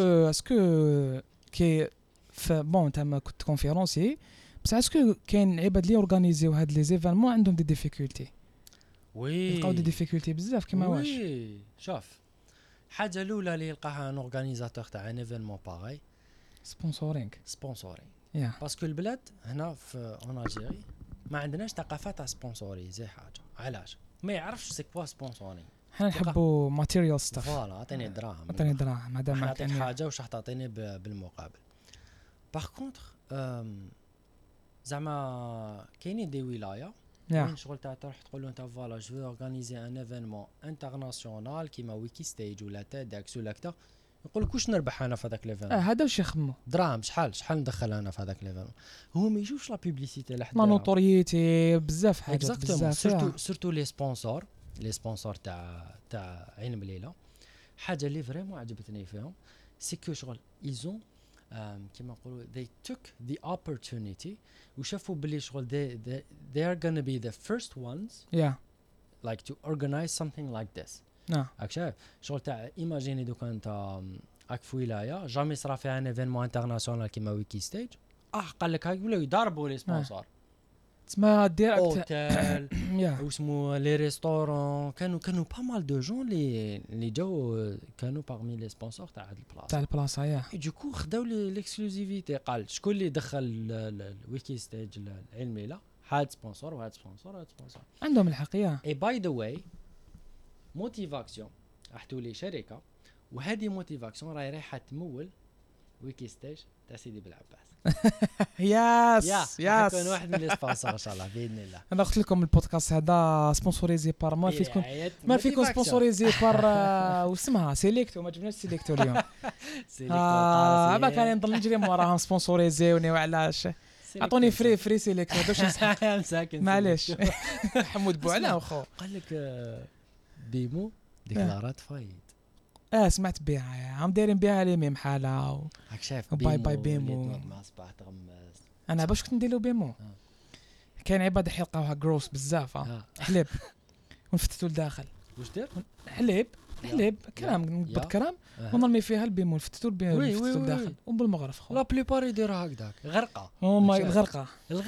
اسكو كي بون انت ما كنت كونفيرونسي بس اسكو كاين عباد اللي اورغانيزيو هاد لي زيفينمون عندهم دي ديفيكولتي يلقاو دي ديفيكولتي بزاف كيما واش شوف حاجه الاولى اللي يلقاها ان اورغانيزاتور تاع ان ايفينمون باغي سبونسورينغ باسكو البلاد هنا في اون الجيري ما عندناش ثقافه تاع سبونسوري زي حاجه. علاش ما يعرفش سي كوا سبونسورينغ حنا نحبوا ماتيريال ستاف. فوالا اعطيني دراهم، عطيني دراهم هذا ما نعطيك كان. حاجه واش راح تعطيني بالمقابل. باغ كونطخ زعما كاينين دي ولايه وين شغل تاع تروح تقول له انت فوالا جو اورغانيزي ان ايفينمون انترناسيونال كيما ويكي ستيج ولا تيدكس ولا كذا، يقول لك واش نربح انا في هذاك ليفينمون. هذا واش يخمو دراهم، شحال ندخل انا في هذاك ليفينمون. هو ما يجوش لا بوبليسيتي لحد ما نوتوريتي بزاف حاجات بزاف. سورتو لي سبونسور تاع عين مليله. حاجه اللي فريمون عجبتني فيهم سي كو شغل ايزون كيما نقولوا they took the opportunity وشافوا بلي شغل they are gonna be the first ones like to organize something like this. راك شايف شغل تاع ايماجيني دوكا انت راك في ولايه جامي صرا فيها ان ايفينمون انترناسيونال كيما ويكي ستيج، قال لك هاي ولاو يضربوا لي سبونسور تسمى ديريكت اوتيل واسمو لي ريستورون. كانوا با مال دو جون اللي جاو كانوا باغمي لي سبونسور تاع هاد البلاصه يا دوكو خداو ليكسكلوزيفيتي. قال شكون اللي دخل الويكي ستيج العلم ليله، هاد سبونسور وهاد سبونسور وهاد سبونسور عندهم الحق. اي باي ذا واي موتيفاكسيون راح تولي شركه، وهذه موتيفاكسيون راهي رايحه تمول ويكي ستيج تاع سيدي بالعباس. ياس يكون واحد من لي سبونسور ان شاء الله باذن الله. انا قلت لكم البودكاست هذا سبونسوريزي بار ما فيكم سبونسوريزي بار واسمها سيليكتو. ما جبناش سيليكتو اليوم. ما كان نضل نجري وراهم سبونسوريزيوني وعلاش اعطوني فري سيليكتو باش مساكن معليش. حمود بوعلا وخو قال لك بيمو ديكلارات فايد. سمعت بها عم دايرين بها لي ميم حاله راك شايف باي بيمو مع صباح تغمس. انا باش كنت نديرو بيمو كاين عباد يلقاوها جروس بزاف حليب ونفتتو لداخل. واش دير حليب كلام بالكرام ونرمي فيها البيمو نفتتو لداخل وبالمغرف خو لا بليبار يديروا هكذاك غرقه. الغرقه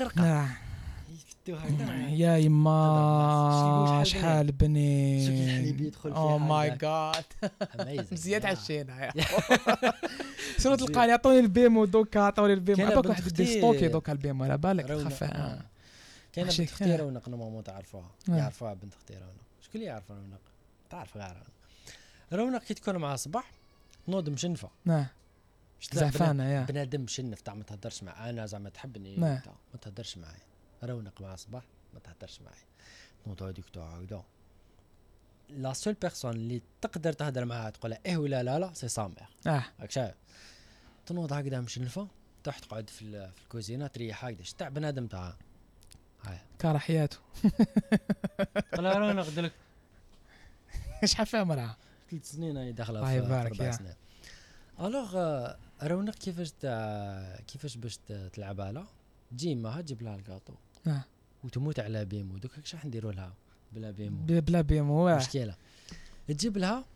يا يما شحال بنين. او ماي جاد مزيان عشينا. شنو تلقاني عطوني البيمو دوكا عطوني البيمو عباك واحد يدي ستوكي دوكا البيمو على بالك تخفى. كاين بنت اختي رونق نورمالمون تعرفوها يعرفوها بنت اختي رونق. شكون اللي يعرف رونق؟ تعرف غير رونق كي تكون مع صباح تنوض مشنفه زعفانه يا بنادم مشنف تاع ما تهدرش معاه. انا زعما تحبني ما تهدرش معايا. رونق مع صباح ما تهدرش معايا. نوض هذيك تاع هكذا لا سول بيرسون اللي تقدر تهدر معاها تقول ايه ولا لا سي سامير. راك شايف تنوض هكذا مشنفه تروح تقعد في الكوزينه تريح هكذا تاع بنادم تاع هاي كاره حياته. قال رونق قلت شحال فيها مرعى 3 سنين هي داخله في 4 سنين. الوغ رونق كيفاش باش تلعب لها تجي معها تجيب لها الكاطو وتموت على بيمو. دوك اش راح نديروا لها بلا بيمو مشكله. تجيب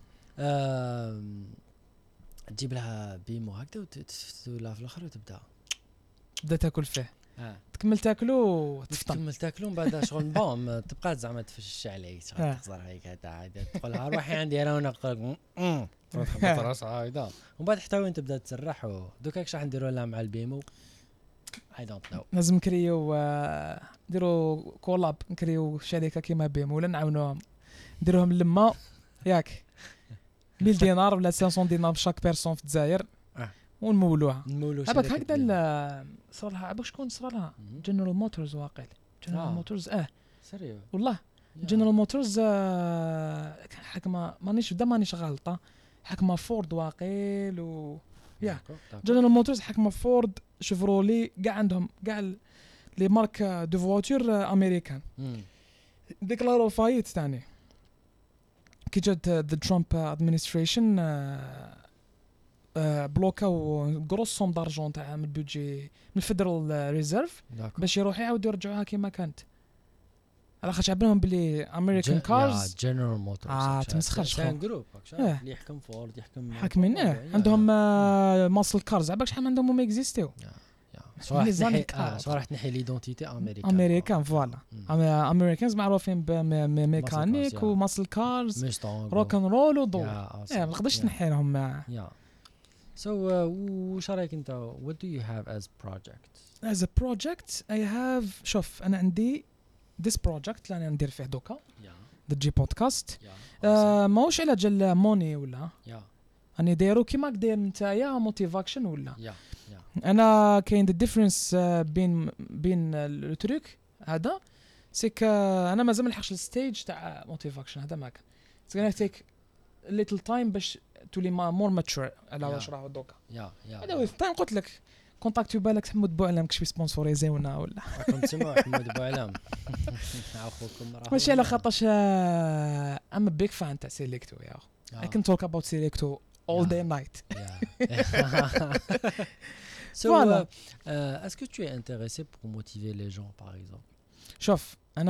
لها بيمو هكذا وتفتو لها في الاخر وتبدا تاكل فيه. تكمل تاكلو من بعد شغل بوم تبقى زعما تفش عليك شغل تخزر عليك هذا تقولها روحي عندي انا ونقول تروح راسها هكذا ومن بعد حتى وين تبدا تسرح. دوك اش راح نديروا لها مع البيمو اي دونت نو. لازم نكريو نديروا كولاب نكريو شركه كيما بيمو ولا نعاونوهم نديروهم لما ياك 1000 دينار ولا 500 دينار بشاك بيرسون في الجزائر ونمولوها. هذاك هكذا صار لها باش شكون صار لها جنرال موتورز واقيلا جنرال موتورز سيريو والله جنرال موتورز حكمه مانيش غلطه حكمه فورد واقيل يا جنرال موتورز حكمه فورد شيفرولي كاع عندهم كاع لي مارك دو فواتور امريكان ديكلارو فايت ثاني كي جات ذا ترامب ادمنستريشن بلوكاو غروس سوم دارجون تاع من البودجي من الفيدرال ريزيرف باش يروحوا يعاودوا يرجعوها كما كانت على خاطر عبرهم بلي امريكان كارز جنرال موتورز تمسخرش كان جروب اللي يحكم فورد يحكم حاكمين عندهم ماسل كارز عباك شحال عندهم ما اكزيستيو صراحه تنحي ليدونتيتي امريكان فوالا امريكانز معروفين بميكانيك وماسل كارز روك ان رول وضو ما نقدرش نحي لهم. So وش رايك انت what do you have as a project I have شوف انا عندي this project اللي انا ندير فيه دوكا دجي بودكاست Yeah. ماهوش على جال موني ولا Yeah. راني دايرو كيما داير نتايا موتيفاكشن ولا Yeah. انا كاين ذا ديفرنس بين لو تروك هذا سيك انا مازال ما لحقش الستيج تاع موتيفاكشن هذا ما كان it's gonna take a little time باش تولي مور ماتشور على واش راه دوكا Yeah. هذا ويز تايم قلت لك كونتاكتي بالك حمود بوعلم كشبي سبونسوريزي ولا راكم تسمعوا حمود بوعلام اخوكم راه ماشي على خاطرش ام بيك فان تاع سيليكتو يا I can talk about Selecto all day and night. So, Voilà. Est-ce que tu es intéressé pour motiver les gens, par exemple? شوف انا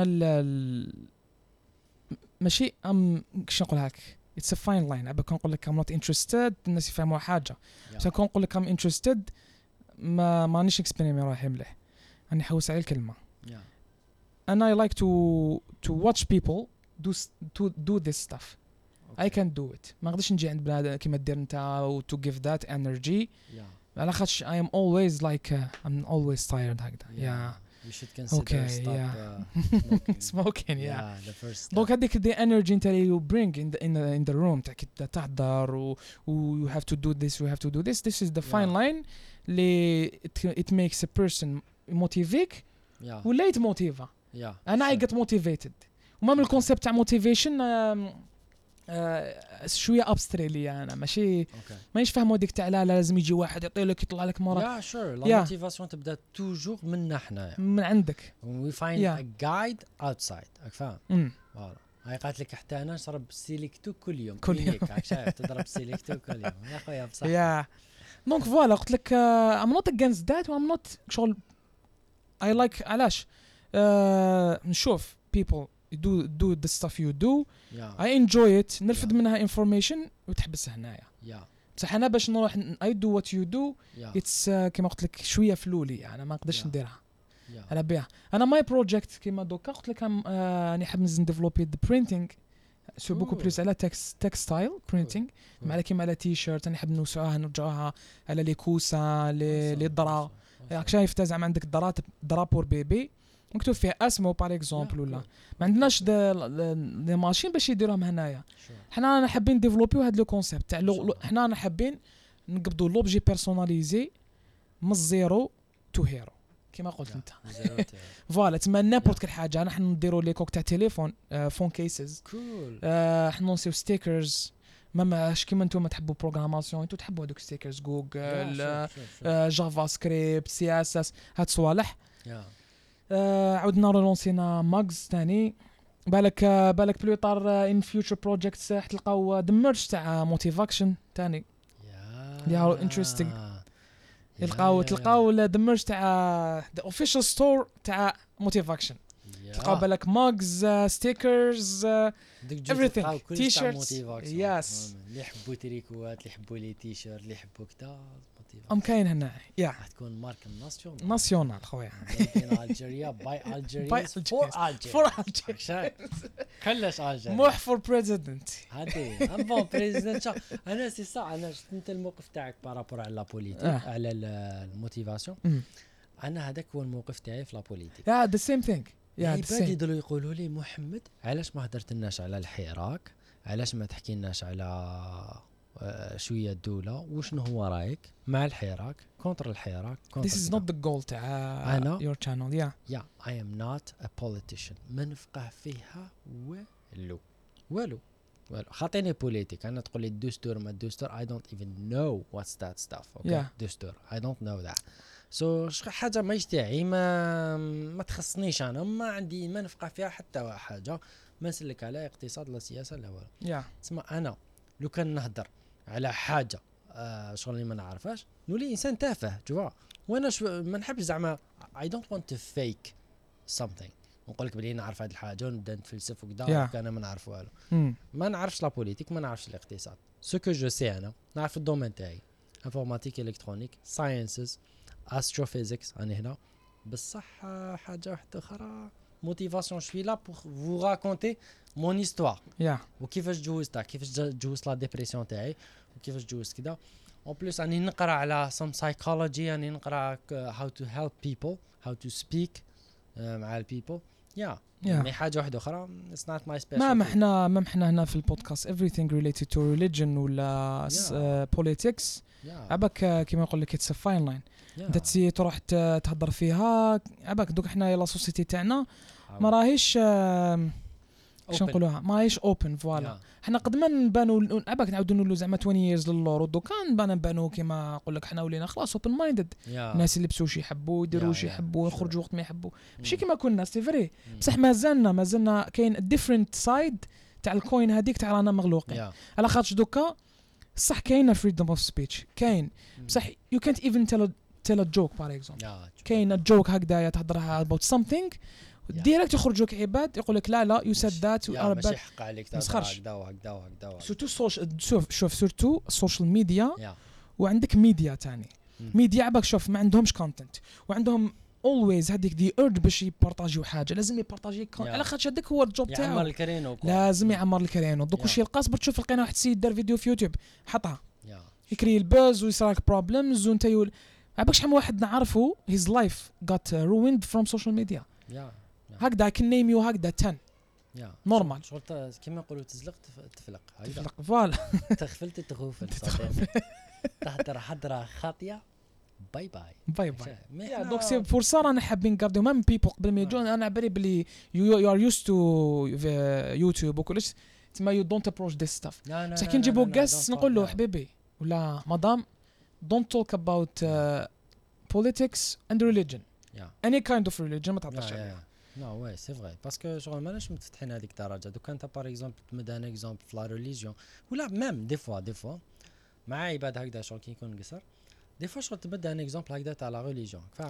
ماشي كش نقول لك it's a fine line ابا كنقول لك I'm not interested الناس يفهموا حاجه بس كنقول لك I'm interested مانيش اكسبريمي روحي مليح راني حوس على الكلمه انا I like to watch people do this stuff. I can do it. ما نقدرش نجي عند بنادم كيما دير انت و to give that energy. على خاطش I am always like I'm always tired هكذا. You should consider smoking. The first step. دونك هذيك the energy انت اللي you bring in the room تاع كي تحضر و you have to do this you have to do this. This is the fine line اللي it makes a person motivate ولا يتموتيفا. أنا I get motivated. وما من الكونسيبت تاع motivation شويه ابستريلي انا ماشي مانيش فاهموا ديك تاع لا لازم يجي واحد يعطي لك يطلع لك مره يا شور لا موتيفاسيون تبدا توجور منا حنايا من عندك وي فايند ا جايد اوتسايد راك فاهم فوالا هاي قالت لك حتى انا نشرب سيليكتو كل يوم راك شايف تضرب سيليكتو كل يوم يا خويا بصح يا دونك فوالا قلت لك ام نوت اجينست ذات وام نوت شغل اي لايك علاش نشوف people do the stuff you do I enjoy it نرفد منها information وتحبس هنايا بصح انا باش نروح I do what you do it's كما قلت لك شويه فلولي انا ما نقدرش نديرها على بها انا ماي بروجيكت كما دوكا قلت لك راني حاب نديفلوبي the printing سو بوكو بليس على تكستايل برينتينغ مع كيما على تي شيرت راني حاب نوسعوها نرجعوها على لي كوسا لي درا راك شايف زعما عندك درابور بيبي مكتوب فيها اسمه بار اكزومبل ولا ما عندناش دي ماشين باش يديروهم هنايا حنا حابين ديفلوبيو هذا لو كونسيبت تاع حنا حابين نقبضوا لوبجي بيرسوناليزي من الزيرو تو هيرو كما قلت انت فوالا تما نابورت كل حاجه نحن نديروا لي كوك تاع تليفون فون كيسز حنا نسيو ستيكرز ماش كيما نتوما تحبوا بروغراماسيون انتو تحبوا هذوك ستيكرز جوجل جافا سكريبت سي اس اس هاد صوالح عاودنا رولونسينا ماغز ثاني بالك بلو طار ان فيوتشر بروجيكتس تلقاو دمرج تاع موتيفاكشن ثاني يا انتريستينغ تلقاو دمرج تاع ذا اوفيشال ستور تاع موتيفاكشن تلقاو بالك ماغز ستيكرز everything تي شيرتس يس اللي يحبوا تريكوات اللي يحبوا لي تي شيرت اللي يحبوا كذا ام كاين هنا راح تكون ماركه ناسيونال خويا من الجيريا باي الجيريا فور الجيريا كلش الجيريا موح فور بريزيدنت هادي ام بون بريزيدنت انا سي صح انا شفت انت الموقف تاعك بارابور على لا بوليتيك على الموتيفاسيون انا هذاك هو الموقف تاعي في لا بوليتيك ذا سيم ثينج العباد يضلوا يقولوا لي محمد علاش ما هدرتلناش على الحراك علاش ما تحكيلناش على شويه الدوله وشنو هو رايك مع الحراك كونتر الحراك This is not the goal تاع your channel I am not a politician ما نفقه فيها والو خاطيني بوليتيك انا تقول لي الدستور ما الدستور I don't even know what's that stuff دستور I don't know that حاجه ما يشتاعي ما تخصنيش انا ما عندي ما نفقه فيها حتى حاجه ما نسلك على اقتصاد لا سياسه لا والو تسمع انا لو كان نهضر على حاجه شغل اللي ما نعرفهاش نولي انسان تافه جوا وانا ما نحبش زعما I don't want to fake something نقول لك بلي نعرف هذه الحاجه ونبدا نتفلسف وكذا انا ما نعرف والو ما نعرفش لا بوليتيك ما نعرفش الاقتصاد سو كو جو سي انا نعرف الدومين تاعي انفورماتيك الكترونيك ساينسز استروفيزيكس انا هنا بصح حاجه واحده اخرى موتيفاسيون شوي لا بور فو راكونتي مون هيستوار وكيفاش جوزتها كيفاش جوزت لا ديبرسيون تاعي وكيفاش جوزت كذا اون بليس راني نقرا على سم سايكولوجي راني نقرا how to help people how to speak مع البيبل يا Yeah. مي حاجه واحده اخرى it's not my specialty. ما احنا هنا في البودكاست everything related to religion ولا politics عباك كيما نقول لك it's a fine line. انت تسي تروح تهضر فيها عباك دوك احنا يلا سوسيتي تاعنا ما راهيش شنو نقولوها ما راهيش اوبن فوالا. حنا قد ما نبانو عباك نعاودو نقولوا زعما 20 years للور ودوكا نبانو كيما نقول لك حنا ولينا خلاص اوبن مايندد. الناس اللي لبسوا شي يحبوا يديروا شي يحبوا يخرجوا وقت ما يحبوا ماشي كيما كنا سي فري بصح مازلنا كاين ديفرنت سايد تاع الكوين هذيك تاع رانا مغلوقين على خاطر دوكا صح كاينه فريدم اوف سبيتش كاين بصح يو كانت ايفن tell a joke par exemple كاين joke هكذايا تهضرها about something ديريكت يخرجوك عباد يقول لك لا يو سيد ذات ماشي حق عليك تهضر هكذا وهكذا سورتو شوف سورتو السوشيال ميديا وعندك ميديا تاني ميديا عباك شوف ما عندهمش كونتنت وعندهم اولويز هذيك دي اورج باش يبارطاجيو حاجه لازم يبارطاجي على خاطر هذاك هو الجوب تاعو يعمر الكرينو لازم يعمر الكرينو دوك واش يلقى صبر تشوف لقينا واحد السيد دار فيديو في يوتيوب حطها يكري البوز ويصراك بروبلمز وانت عباك شحال واحد نعرفه his life got ruined from social media هكذا can name you هكذا 10 نورمال شغل كيما نقولوا تزلق تفلق فوالا تغفلت تغفل صدق تهدر حضره خاطيه باي دوك سي فرصه رانا حابين نقردو مام بيبل قبل ما يجون انا عبالي بلي يو ار يوست تو يوتيوب وكلش تما يو دونت ابروش ذيس ستاف بصح كي نجيبو غاست نقول له حبيبي ولا مدام don't talk about politics and religion any kind of religion ما تهضرش عليها نو وي سي فري باسكو شغل ماناش متفتحين هذيك الدرجه دوك انت باغ اكزومبل تمد ان اكزومبل في لا ريليجيون ولا ميم دي فوا مع عباد هكذا شغل كي يكون قصر دي فوا شغل تبدا ان اكزومبل هكذا تاع لا ريليجيون فاهم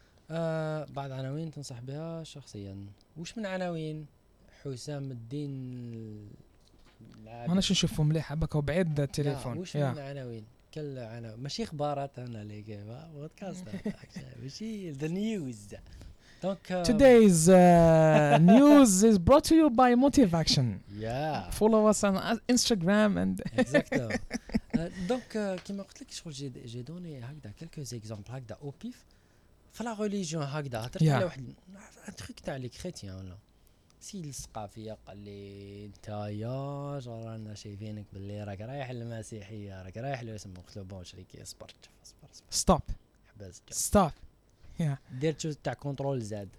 بعض عناوين تنصح بها شخصيا واش من عناوين حسام الدين ماناش نشوفو مليح هكا وبعيد التليفون واش من عناوين كل عناوين ماشي اخبارات انا ليك بودكاست ماشي ذا نيوز Donc, today's news is brought to you by Motivaction. Follow us on Instagram and exactement. Donc كيما قلت لك شغل جي دوني هكذا quelques exemples هكذا او بيف فلا ريليجيون هكذا هضرت على واحد تريك تاع لي كريتيان ولا سي الثقافيه قال لي انت يا رانا شايفينك باللي راك رايح للمسيحيه راك رايح له اسمه قلت له بون شريكي اصبر ستوب حبس ستوب درت تاع كنترول زاد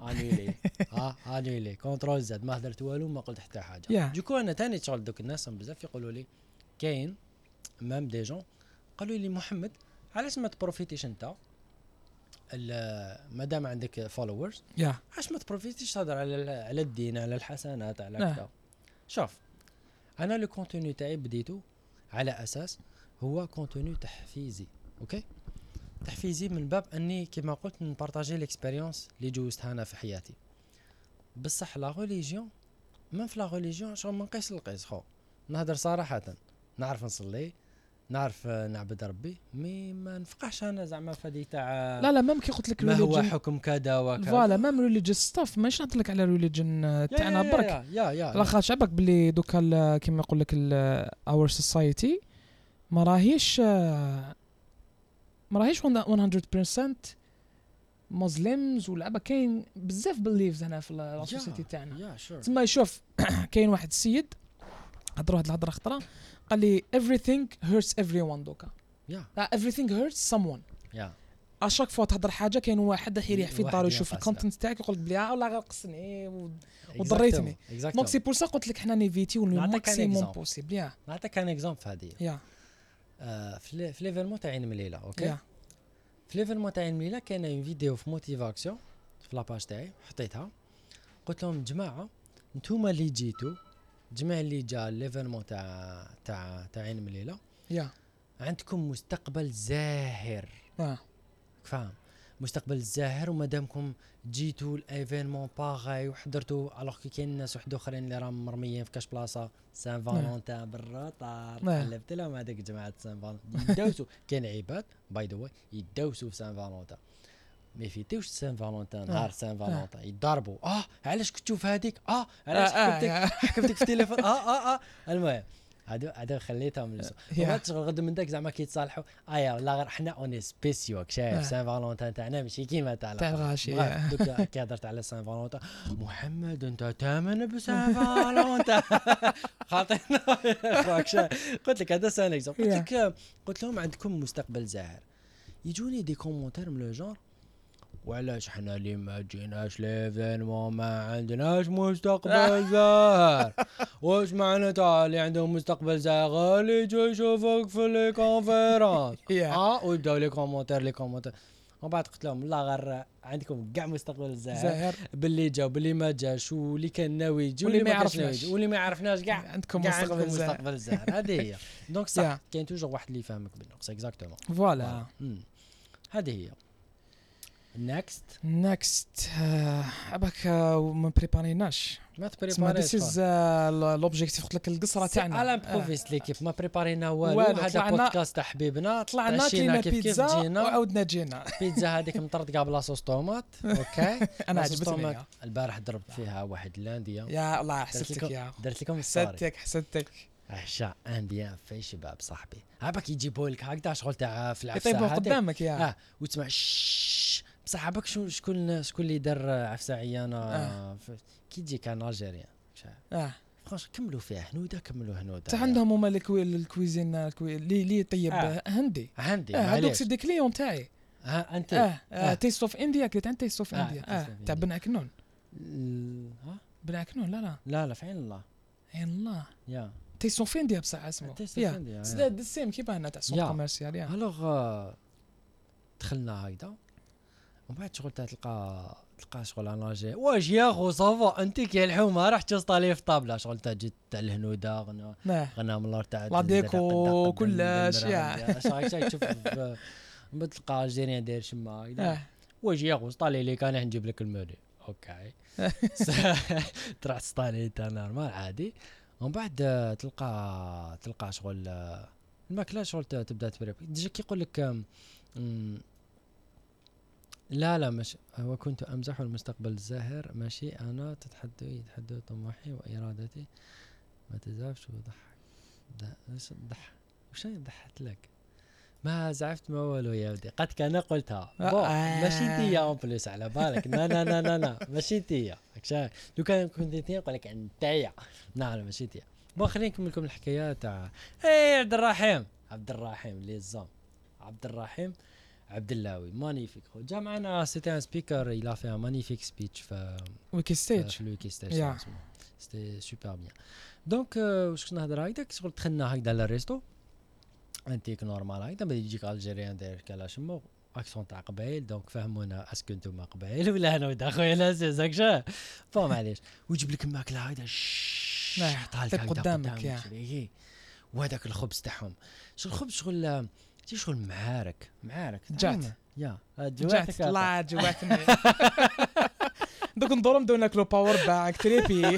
انيلي كنترول زاد ما هدرت والو ما قلت حتى حاجه دوكو انا ثاني شغل دوك الناس بزاف يقولوا لي كاين مام دي جون قالوا لي محمد علاش ما تبروفيتيش انت مادام عندك فولورز علاش ما تبروفيتيش تهضر على الدين على الحسنات على كذا شوف انا لو كونتوني تاعي بديتو على اساس هو كونتوني تحفيزي اوكي تحفيزي من باب اني كما قلت نبارطاجي ليكسبيريونس اللي جوزتها انا في حياتي بصح لا ريليجيون ما في لا ريليجيون شغل ما نقيس القيس خو نهضر صراحه نعرف نصلي نعرف نعبد ربي مي ما نفقعش انا زعما فدي تاع لا ما كي قلت لك ما هو حكم كذا وكذا فوالا مام ريليجيوس ستاف ماشي نهضر لك على ريليجن تاعنا برك لا خاطر شعبك بلي دوكا كيما يقول لك اور سوسايتي ما راهيش 100% مسلمز ولعبه كاين بزاف بليفز هنا في السوسيتي تاعنا تما يشوف كاين واحد السيد هضر واحد الهضره خطره قال لي everything hurts everyone دوكا everything hurts someone اشاك فوا تهضر حاجه كاين واحد يريح في الدار ويشوف الكونتنت تاعك يقول لك بلي والله غير قصني وضريتني دونك سي بور سا قلت لك حنا نيفيتيو الماكسيموم بوسيبل نعطيك ان اكزومبل في هذه في ليفيرمون تاع عين مليله اوكي في ليفيرمون تاع عين مليله كاينه اون فيديو في موتيفاكسيون في لاباج تاعي حطيتها قلت لهم جماعه نتوما اللي جيتوا جماعه اللي جا ليفيرمون تاع عين مليله عندكم مستقبل زاهر فاهم مستقبل زاهر ومادامكم جيتوا الايفينمون باغاي وحضرتوا الوغ كي كاين ناس واحد اخرين اللي راهم مرميين في كاش بلاصه سان فالونتان بالروطار قلبت لهم هذيك جماعه سان فالونتان يدوسوا كاين عباد باي ذا واي يدوسوا في سان فالونتان ما يفيتوش سان فالونتان نهار سان فالونتان يضربوا علاش كنتو في هذيك علاش حكمتك في التليفون المهم هادو خليتهم لسه يا. وما تشغل غد من داك زعما كيتصالحوا لا غير حنا اوني سبيسيو شايف سان فالونتان تاعنا ماشي كيما تاع الغاشي. دوك كي هضرت على سان فالونتان محمد انت تامن بسان فالونتان خاطينا قلت لك هذا سان اكزومبل قلت لهم عندكم مستقبل زاهر يجوني دي كومونتير من لو جونر وعلاش حنا اللي ما جيناش ليفينمون ما عندناش مستقبل زاهر واش معنى تاع اللي عندهم مستقبل زاهر اللي يجوا يشوفوك في لي كونفيرونس ويبداو لي كومونتير ومن بعد قلت لهم لا غير عندكم كاع مستقبل زاهر باللي جا باللي ما جاش واللي كان ناوي يجي واللي ما يعرفناش واللي ما يعرفناش كاع عندكم مستقبل زاهر هذه هي دونك صح كاين توجور واحد اللي يفهمك بالنقص اكزاكتومون فوالا هذه هي next اباك ما بريباريناش ما تبريباريش this is l'objectif قلت لك القصره تاعنا على بروفيس ليكيب ما بريبارينا والو هذا بودكاست حبيبنا طلعنا كلينا بيتزا وعاودنا جينا بيتزا هذيك مطرطقه بلا صوص طوماط اوكي انا عجبتني البارح ضربت فيها واحد لانديا يا الله حسدتك يا درت لكم حسدتك عشاء انديا في شباب صاحبي هابك يجيبوا لك هكذا شغل تاع في العفسه يطيبوا قدامك يا وتسمع بصح عباك شكون اللي دار عفسه عيانه كي تجي كان الجيريان فرانش كملوا فيها هنوده حتى عندهم هما الكويزين اللي يطيب هندي هذوك سي دي كليون تاعي انت تيست اوف انديا كنت عند تيست اوف انديا تاع بن عكنون بن عكنون لا في عين الله يا تيست اوف انديا بصح اسمه يا السيم كيف هنا تاع سوق كوميرسيال يا الوغ دخلنا هكذا ومن بعد شغل تلقى شغل انا جاي واش يا خو صافا انت كي الحومه راح تصطالي في طابله شغل تاع جيت تاع الهنوده غنى من الارض تاع لا ديكو كلش يا شاي تشوف بتلقى الجيريان داير شما هكذا واش يا خو صطالي لي كان نجيب لك المودي اوكي تروح تصطالي تاع نورمال عادي ومن بعد تلقى شغل الماكله شغل تبدا تبريب ديجا كيقول لك لا مش هو كنت امزح المستقبل الزاهر ماشي انا تتحدى طموحي وارادتي ما تزعفش وضحك وش ضحكت لك ما زعفت ما والو يا ودي قد كان قلتها ماشي انت اون بليس على بالك لا ماشي انت لو كان كنت انت نقول لك انت يا لا ماشي انت خلينا نكمل لكم الحكايه تاع عبد الرحيم ليزام عبد الرحيم عبد اللاوي مانيفيك جا معنا سيتي ان سبيكر il a fait un magnifique speech في ويكي ستيج سيتي سوبر بيان دونك واش كنا نهضر هكذاك شغل دخلنا هكذا للريستو انتيك نورمال هكذا بدا يجيك الجيريان داير كلا شمو اكسون تاع قبايل دونك فهمونا اسكو نتوما قبايل ولا انا ودا خويا لا زاك شا معليش ويجيب لك الماكله هكذا طالع قدامك يا وهذاك الخبز تاعهم الخبز شغل معارك جات يا جات الله جواتني دوك ندورو نبداو ناكلو باور باك تريبي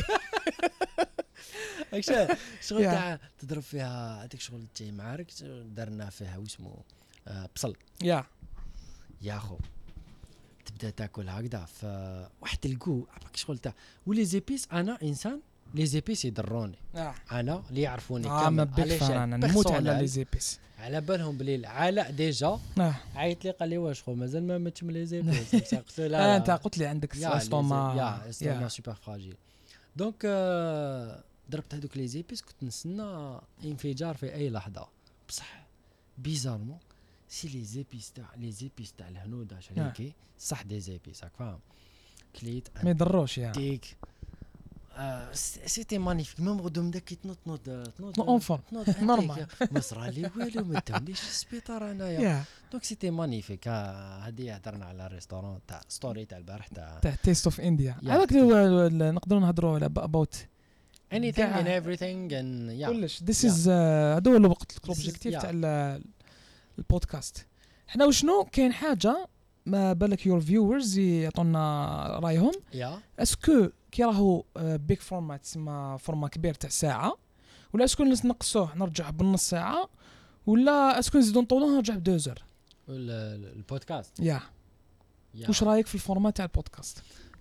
شغل تاع تضرب فيها هذيك شغل تاع معارك درنا فيها واسمو بصل يا خو تبدا تاكل هكذا فواحد الكو شغل تاع ولي زيبيس انا انسان لي زيبيس يضروني انا اللي يعرفوني كامل علاش انا نموت على لي زيبيس على بالهم بلي علاء ديجا عيط لي قال لي واش خو مازال ما متش من لي زيبيس قلت له لا انت قلت لي عندك استوما سوبر فراجيل دونك ضربت هذوك لي زيبيس كنت نستنى انفجار في اي لحظه بصح بيزارمون سي لي زيبيس تاع الهنوده شريكي صح دي زيبيس راك فاهم كليت ما يضروش يا ديك سيتي مانيفيك ميم غدوم داك تنوض اونفون نورمال ما صرا لي والو ما داونيش السبيطار انايا دونك سيتي مانيفيك هذه هضرنا على الريستورون تاع ستوري تاع البارح تاع تيست اوف انديا هذاك نقدروا نهضروا على اباوت anything and everything and كلش this is هذا هو الوقت الاوبجيكتيف تاع البودكاست حنا وشنو كاين حاجه ما بالك يور فيورز يعطونا رايهم اسكو كي راهو بيك فورمات تسمى فورما كبير تاع ساعه ولا اسكو نقصوه نرجع بالنص ساعه ولا اسكو نزيدو نطولوه نرجع ب2 البودكاست واش رايك في الفورمات تاع البودكاست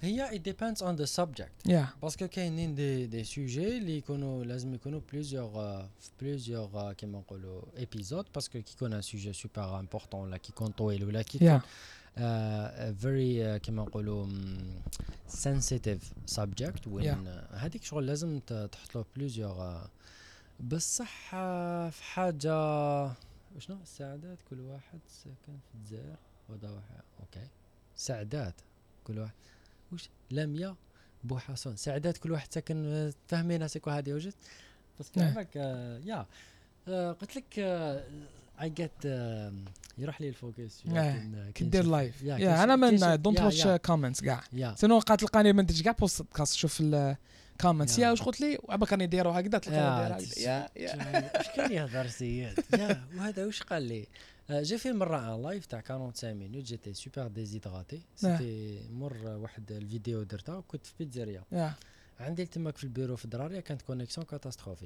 هي it depends on the subject. باسكو كاينين دي سوجي اللي يكونوا لازم يكونوا بليزيور كيما نقولوا ايبيزود باسكو كي يكون ان سوجي سوبر امبورطون ولا كي يكون طويل ولا كي يكون very كيما نقولوا sensitive subject وين هذيك شغل لازم تحط له بليزيور بصح في حاجه شنو السعادات كل واحد ساكن في الجزائر وهذا واحد اوكي سعادات كل واحد وش لميا بوحصون سعادات كل واحد ساكن فاهمين هسيكو هذه وجدت بس كلامك يا قلت لك I get يروح لي الفوكس كدير لايف انا من دونت واتش كومنتس كاع سينو تلقاني ما نديرش كاع بودكاست شوف الكومنتس يا واش قلت لي وعباك راني دايرو هكذا تلقاني داير واش كان يهضر سيد يا وهذا واش قال لي جي في مره ان لايف تاع 45 مينوت جيتي سوبر ديزيدراتي سيتي مر واحد الفيديو درتها كنت في بيتزاريا عندي تماك في البيرو في دراريا كانت كونيكسيون كاتاستروفيك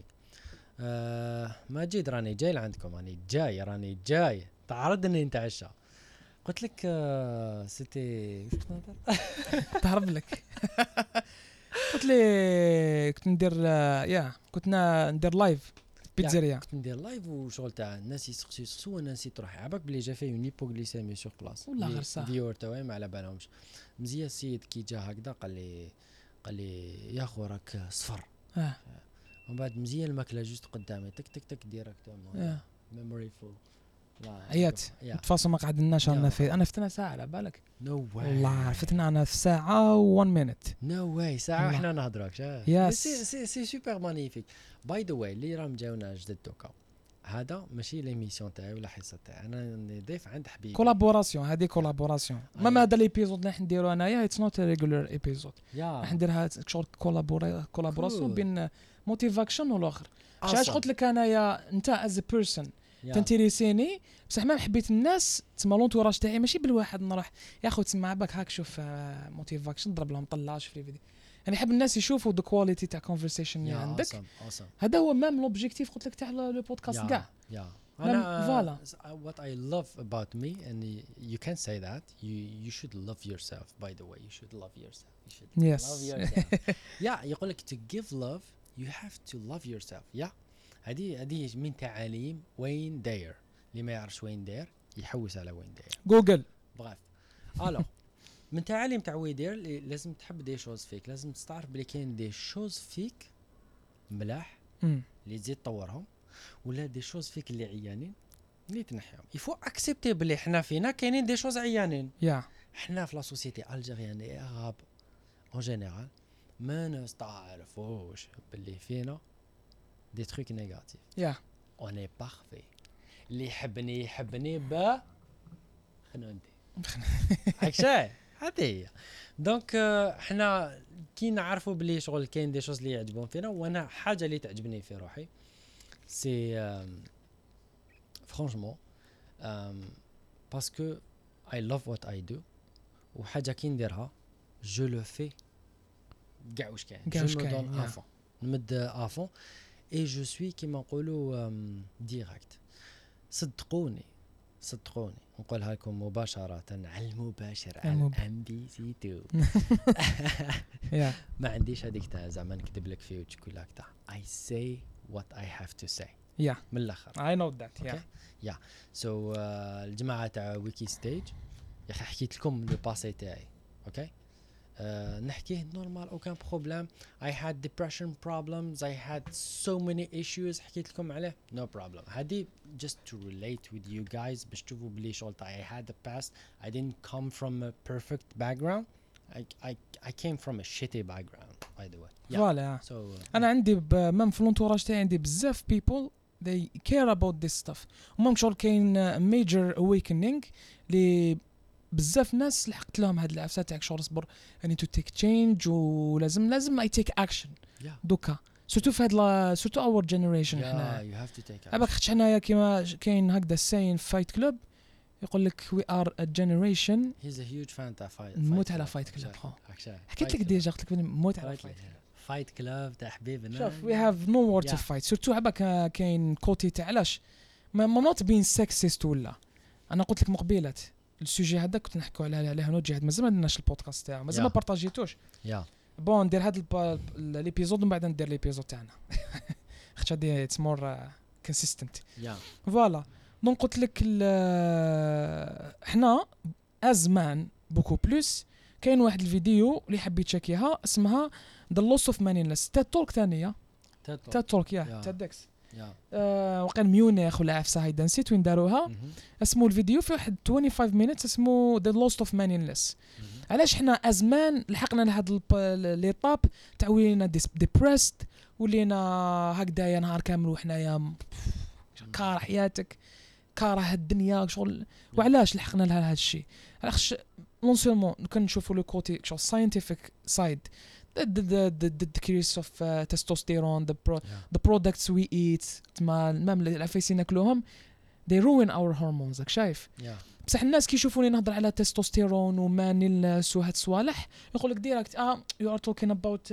ماجد راني جاي لعندكم راني جاي تعرضني نتعشى قلت لك سيتي واش كنت نهضر تهرب لك قلت لي كنت ندير كنت ندير لايف بيتزاريا كنت ندير لايف وشغل تاع الناس يسقسوا انا نسيت روحي عباك بلي جا فيه اون هيبوغليسيمي سور بلاص والله غير صح فيور تاعي ما على بالهمش مزيان السيد كي جا هكذا قال لي يا خو راك صفر ومن بعد مزيان الماكله جوست قدامي تك تك تك ديريكتومون ميموري فول عيات تفاصل ما قعدناش انا فتنا ساعه على بالك نو واي والله فتنا انا في ساعه و1 مينيت نو واي ساعه وحنا نهضروك سي سوبر مانيفيك باي ذا واي اللي راهم جاونا جدد دوكا هذا ماشي ليميسيون تاعي ولا حصه تاعي انا ضيف عند حبيبي كولابوراسيون هذه كولابوراسيون ما هذا ليبيزود اللي نديرو انايا اتس نوت ريغولار ايبيزود راح نديرها شغل كولابوراسيون بين موتيفاكشن والاخر علاش قلت لك انايا انت از بيرسون تنتريسيني بصح ما حبيت الناس تما لونتوراج تاعي ماشي بالواحد نروح يا خو تسمع باك هاك شوف موتيفاكشن ضرب لهم طلاش في الفيديو يعني نحب الناس يشوفوا ذا كواليتي تاع كونفرسيشن اللي عندك هذا هو ميم لوبجيكتيف قلت لك تاع لو بودكاست كاع انا what I love about me and you can say that you should love yourself by the way you should love yourself love yourself يقول لك to give love you have to love yourself هذه من تعاليم وين داير اللي ما يعرفش وين داير يحوس على وين داير جوجل بغاف الو من تعاليم تاع وين داير لازم تحب دي شوز فيك لازم تستعرف بلي كاين دي شوز فيك ملاح اللي تزيد تطورهم ولا دي شوز فيك اللي عيانين اللي تنحيهم يفو اكسبتي بلي حنا فينا كاينين دي شوز عيانين حنا في لا سوسيتي الجيريان اي عرب اون جينيرال ما نستعرفوش بلي فينا دي تروك نيجاتيف اون اي بارفي اللي يحبني با خنونتي هكشي هذه دونك حنا كي نعرفوا بلي شغل كاين دي شوز اللي يعجبون فينا وانا حاجه اللي تعجبني في روحي سي فرانشمون باسكو اي لاف وات اي دو وحاجه كي نديرها جو لو في كاع واش كاين جو مو دون افون نمد افون اي جو سوي كيما نقولوا ديريكت صدقوني نقولها لكم مباشرة على المباشر على MBC2 ما عنديش هذيك تاع زعما نكتب لك فيه وتقول لك تاع I say what I have to say من الاخر I know that so الجماعة تاع ويكي ستيج يا اخي حكيت لكم لو باسي تاعي اوكي نحكيه نورمال اوكان بروبليم I had depression problems I had so many issues حكيت لكم عليه no problem هذه just to relate with you guys باش تشوفوا بلي شغل I had a past I didn't come from a perfect background I came from a shitty background by the way فوالا انا عندي مام في لونتوراج تاعي عندي بزاف people they care about this stuff ومام شغل كاين major awakening اللي بزاف ناس لحقت لهم هاد العفسه تاعك شغل اصبر اني تو تيك تشينج ولازم اي تيك اكشن دوكا سورتو في هاد سورتو اور جينيريشن حنا يو هاف تو تيك اباك خدش حنايا كيما كاين هكذا الساين فايت كلوب يقول لك وي ار ا جينيريشن هيز ا هيوج فان تاع فايت نموت على فايت كلوب حكيت لك ديجا قلت لك نموت على فايت كلوب تاع حبيبنا شوف وي هاف نو وور تو فايت سورتو عباك كاين كوتي تاع علاش ما نوت بين سكسيست ولا انا قلت لك مقبلات السوجي هذا كنت نحكوا عليه هنا جهاد مازال ما درناش البودكاست تاعو مازال ما Yeah. بارطاجيتوش يا بون ندير هذا ليبيزود ومن بعد ندير ليبيزود تاعنا خاطر هادي اتس مور كونسيستنت يا فوالا دونك قلت لك حنا ازمان بوكو بلوس كاين واحد الفيديو اللي حبيت تشيكيها اسمها ذا لوس اوف مانينلس تاد تولك ثانيه تاد تولك يا Yeah. تادكس يا وكان ميونخ ولا عفسه هايدا نسيت وين داروها اسمه الفيديو في واحد 25 مينيت اسمه ذا لوست اوف مانينلس علاش حنا ازمان لحقنا لهاد ليطاب تاع ولينا ديبريست ولينا هكذايا نهار كامل وحنايا كاره حياتك كاره الدنيا شغل وعلاش لحقنا لها هذا الشيء علاش نون سولمون كنشوفوا لو كوتي شغل ساينتيفيك سايد the decrease of testosterone the products we eat مام العفايس ناكلوهم they ruin our hormones راك شايف بصح الناس كيشوفوني نهضر على تستوستيرون ومانيلس وهاد الصوالح يقول لك ديريكت you are talking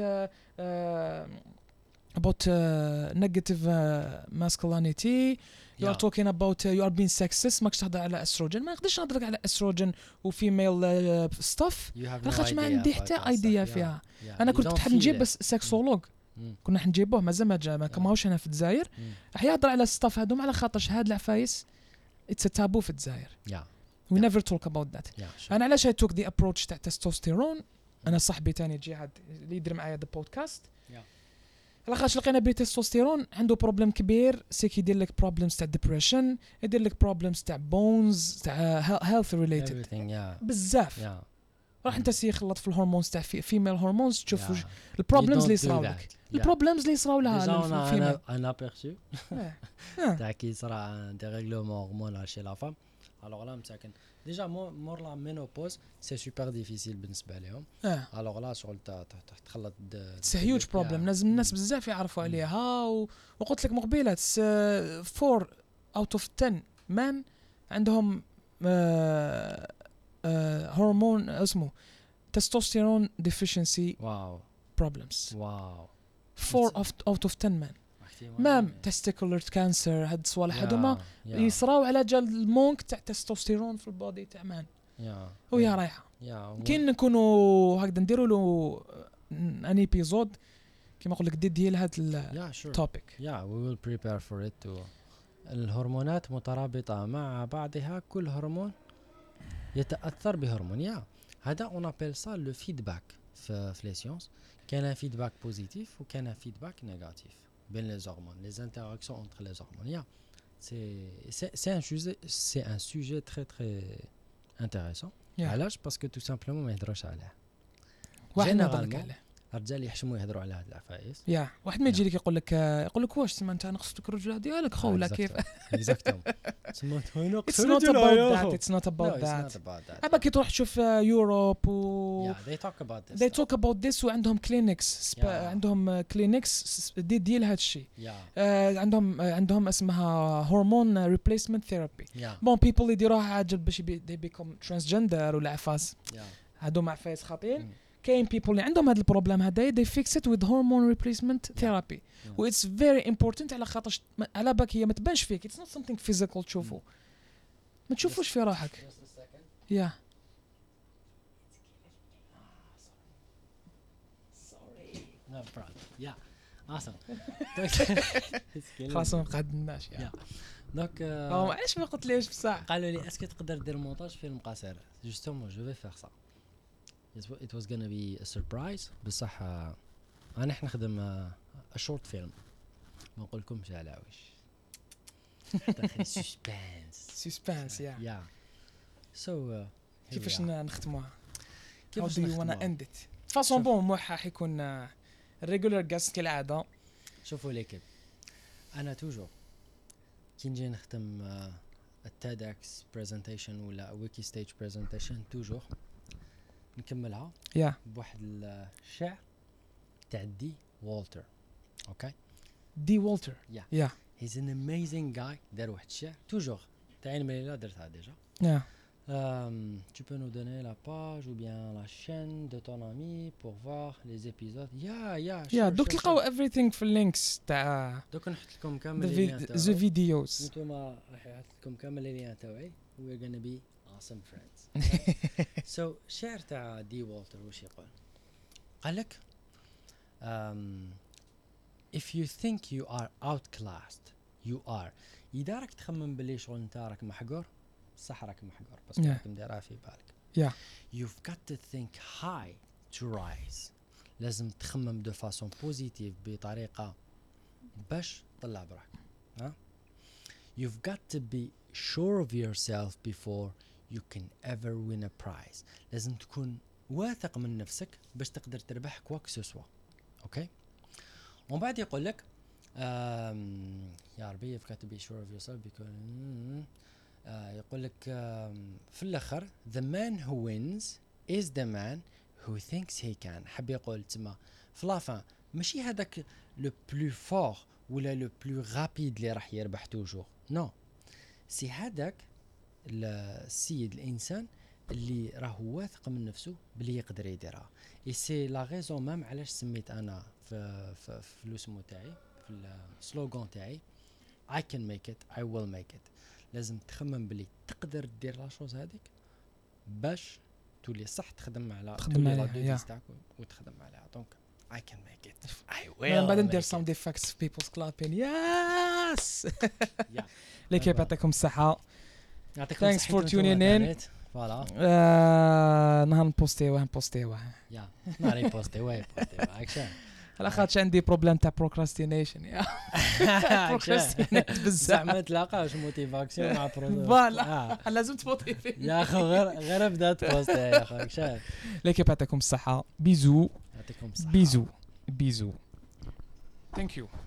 about negative masculinity you are talking about you are being sexist ماكش تهضر على استروجين ما نقدرش نهضر على استروجين وفيميل ستاف لاخاطش ما عندي حتى ايديا فيها انا كنت تحب نجيب بس سكسولوج كنا حنجيبوه مازال ما كماوش هنا في الجزائر راح يهضر على الستاف هذوم على خاطرش هاد العفايس اتس تابو في الجزائر we never talk about that انا علاش I took the approach تاع تستوستيرون انا صاحبي تاني جهاد اللي يدير معايا ذا بودكاست لاخاطش لقينا بلي التستوستيرون عنده بروبليم كبير سي كيدير لك بروبليمز تاع ديبريشن يدير لك بروبليمز تاع بونز تاع هيلث ريليتد بزاف راح انت سي خلط في الهرمونز تاع فيميل هرمونز تشوف البروبليمز اللي يصراو لك البروبليمز اللي يصراو لها انا بيرسو تاع كي صرا دي ريغلومون هرمونال شي لا فام الوغ لا مساكن ديجا مور لا مينوبوز سي سوبر ديفيسيل بالنسبه لهم الوغ لا شغل تخلط اتس هيوج بروبليم لازم الناس بزاف يعرفوا عليها وقلت لك مقبيلات 4 اوت اوف 10 مان عندهم هرمون اسمه تستوستيرون ديفيشنسي بروبلمز 4 اوت اوف 10 مان مام تستيكولر كانسر هاد الصوالح هادوما يصراو على جال المونك تاع تستوستيرون في البودي تاع مان وهي رايحه كاين نكونوا هكذا نديروا له ان ايبيزود كيما نقول لك ديدي لهاد التوبيك وي ويل بريبير فور ات الهرمونات مترابطه مع بعضها كل هرمون يتاثر بهرمون هذا اون ابل سا لو فيدباك في لي سيونس كاين فيدباك بوزيتيف وكاين فيدباك نيجاتيف بين les hormones les interactions entre les hormones c'est un sujet très très intéressant علاش باسكو تو سامبلومون ما يهضروش عليه واحد نهضر عليه الرجال يحشموا يهضروا على هاد العفايس واحد ما يجي لك يقول لك واش تسمى انت نقصتك الرجله ديالك خو ولا كيف اكزاكتوم تسمى it's not about that اما كي تروح تشوف يوروب they talk about this وعندهم كلينكس عندهم كلينكس دي لهذا الشيء عندهم اسمها هرمون ريبليسمنت ثيرابي بون بيبل يديروها عاجل باش they become transgender ولا عفاس هادو عفايس خاطئين كاين people اللي عندهم هذا البروبليم هذا they fix it with hormone replacement therapy و it's very important على خاطر على بالك هي ما تبانش فيك it's not something physical تشوفه ما تشوفوش في راحك خلاص ما قعدناش دونك علاش ما قلت ليش بصح قالوا لي اسكو تقدر دير مونتاج فيلم قصير جوستومون جو في فير سا it was gonna be a surprise بصح انا نخدم a short film ما نقول لكمش على واش داخل سسبانس يا سو كيفاش نختموها كيفاش وانا اندت فاصون بون موحى حيكون الريغولار جاست كالعاده شوفوا ليكيب انا توجور كي نجي نختم التيدكس بريزنتيشن ولا ويكي ستيج بريزنتيشن توجور نكملها بواحد الشعر تاع دي والتر اوكي دي والتر he's an amazing guy دار واحد الشعر توجور تاع عين مليلة درتها ديجا tu peux nous donner la page ou bien la chaîne de ton ami pour voir les épisodes دوك تلقاو everything في اللينكس تاع دوك نحط لكم كامل the videos نتوما راح نحط لكم كامل اللي تاعي we're gonna be awesome friends سو شعر تاع دي والتر وش يقول؟ قال لك if you think you are outclassed you are. إذا راك تخمم باللي شغل نتا راك محقور، صح راك محقور، بس راك مديرها في بالك. You've got to think high to rise. لازم تخمم دو فاسون بوزيتيف بطريقة باش تطلع براك. ها؟ You've got to be sure of yourself before you can ever win a prize. لازم تكون واثق من نفسك باش تقدر تربح كواك سوسوا. اوكي؟ ومن بعد يقول لك يا ربي you've got to be sure of yourself because يقول لك في الاخر the man who wins is the man who thinks he can. حب يقول تما في لافان ماشي هذاك لو بلو فور ولا لو بلو رابيد اللي راح يربح توجور، نو سي هذاك السيد الانسان اللي راه واثق من نفسه بلي يقدر يديرها. اي سي لا ريزون مام علاش سميت انا في الاسمو تاعي في السلوغان تاعي I can make it I will make it. لازم تخمم بلي تقدر دير لا شوز هذيك باش تولي صح تخدم على لا ديفيس تاعك وتخدم عليها. دونك I can make it I will. بعدين ندير some defects people's clapping yes. ليكيب يعطيكم الصحة. يعطيكم thanks for tuning in. فوالا نهار نبوستيوه يا ناري بوستيوه اكشن على خاطش عندي بروبليم تاع بروكراستينيشن يا بروكراستينيت بزاف زعما تلاقاش موتيفاكسيون مع فوالا لازم تموتيفي يا اخو غير بدات بوست يا اخو اكشن. ليكيب يعطيكم الصحة. بيزو يعطيكم الصحة. بيزو ثانك يو.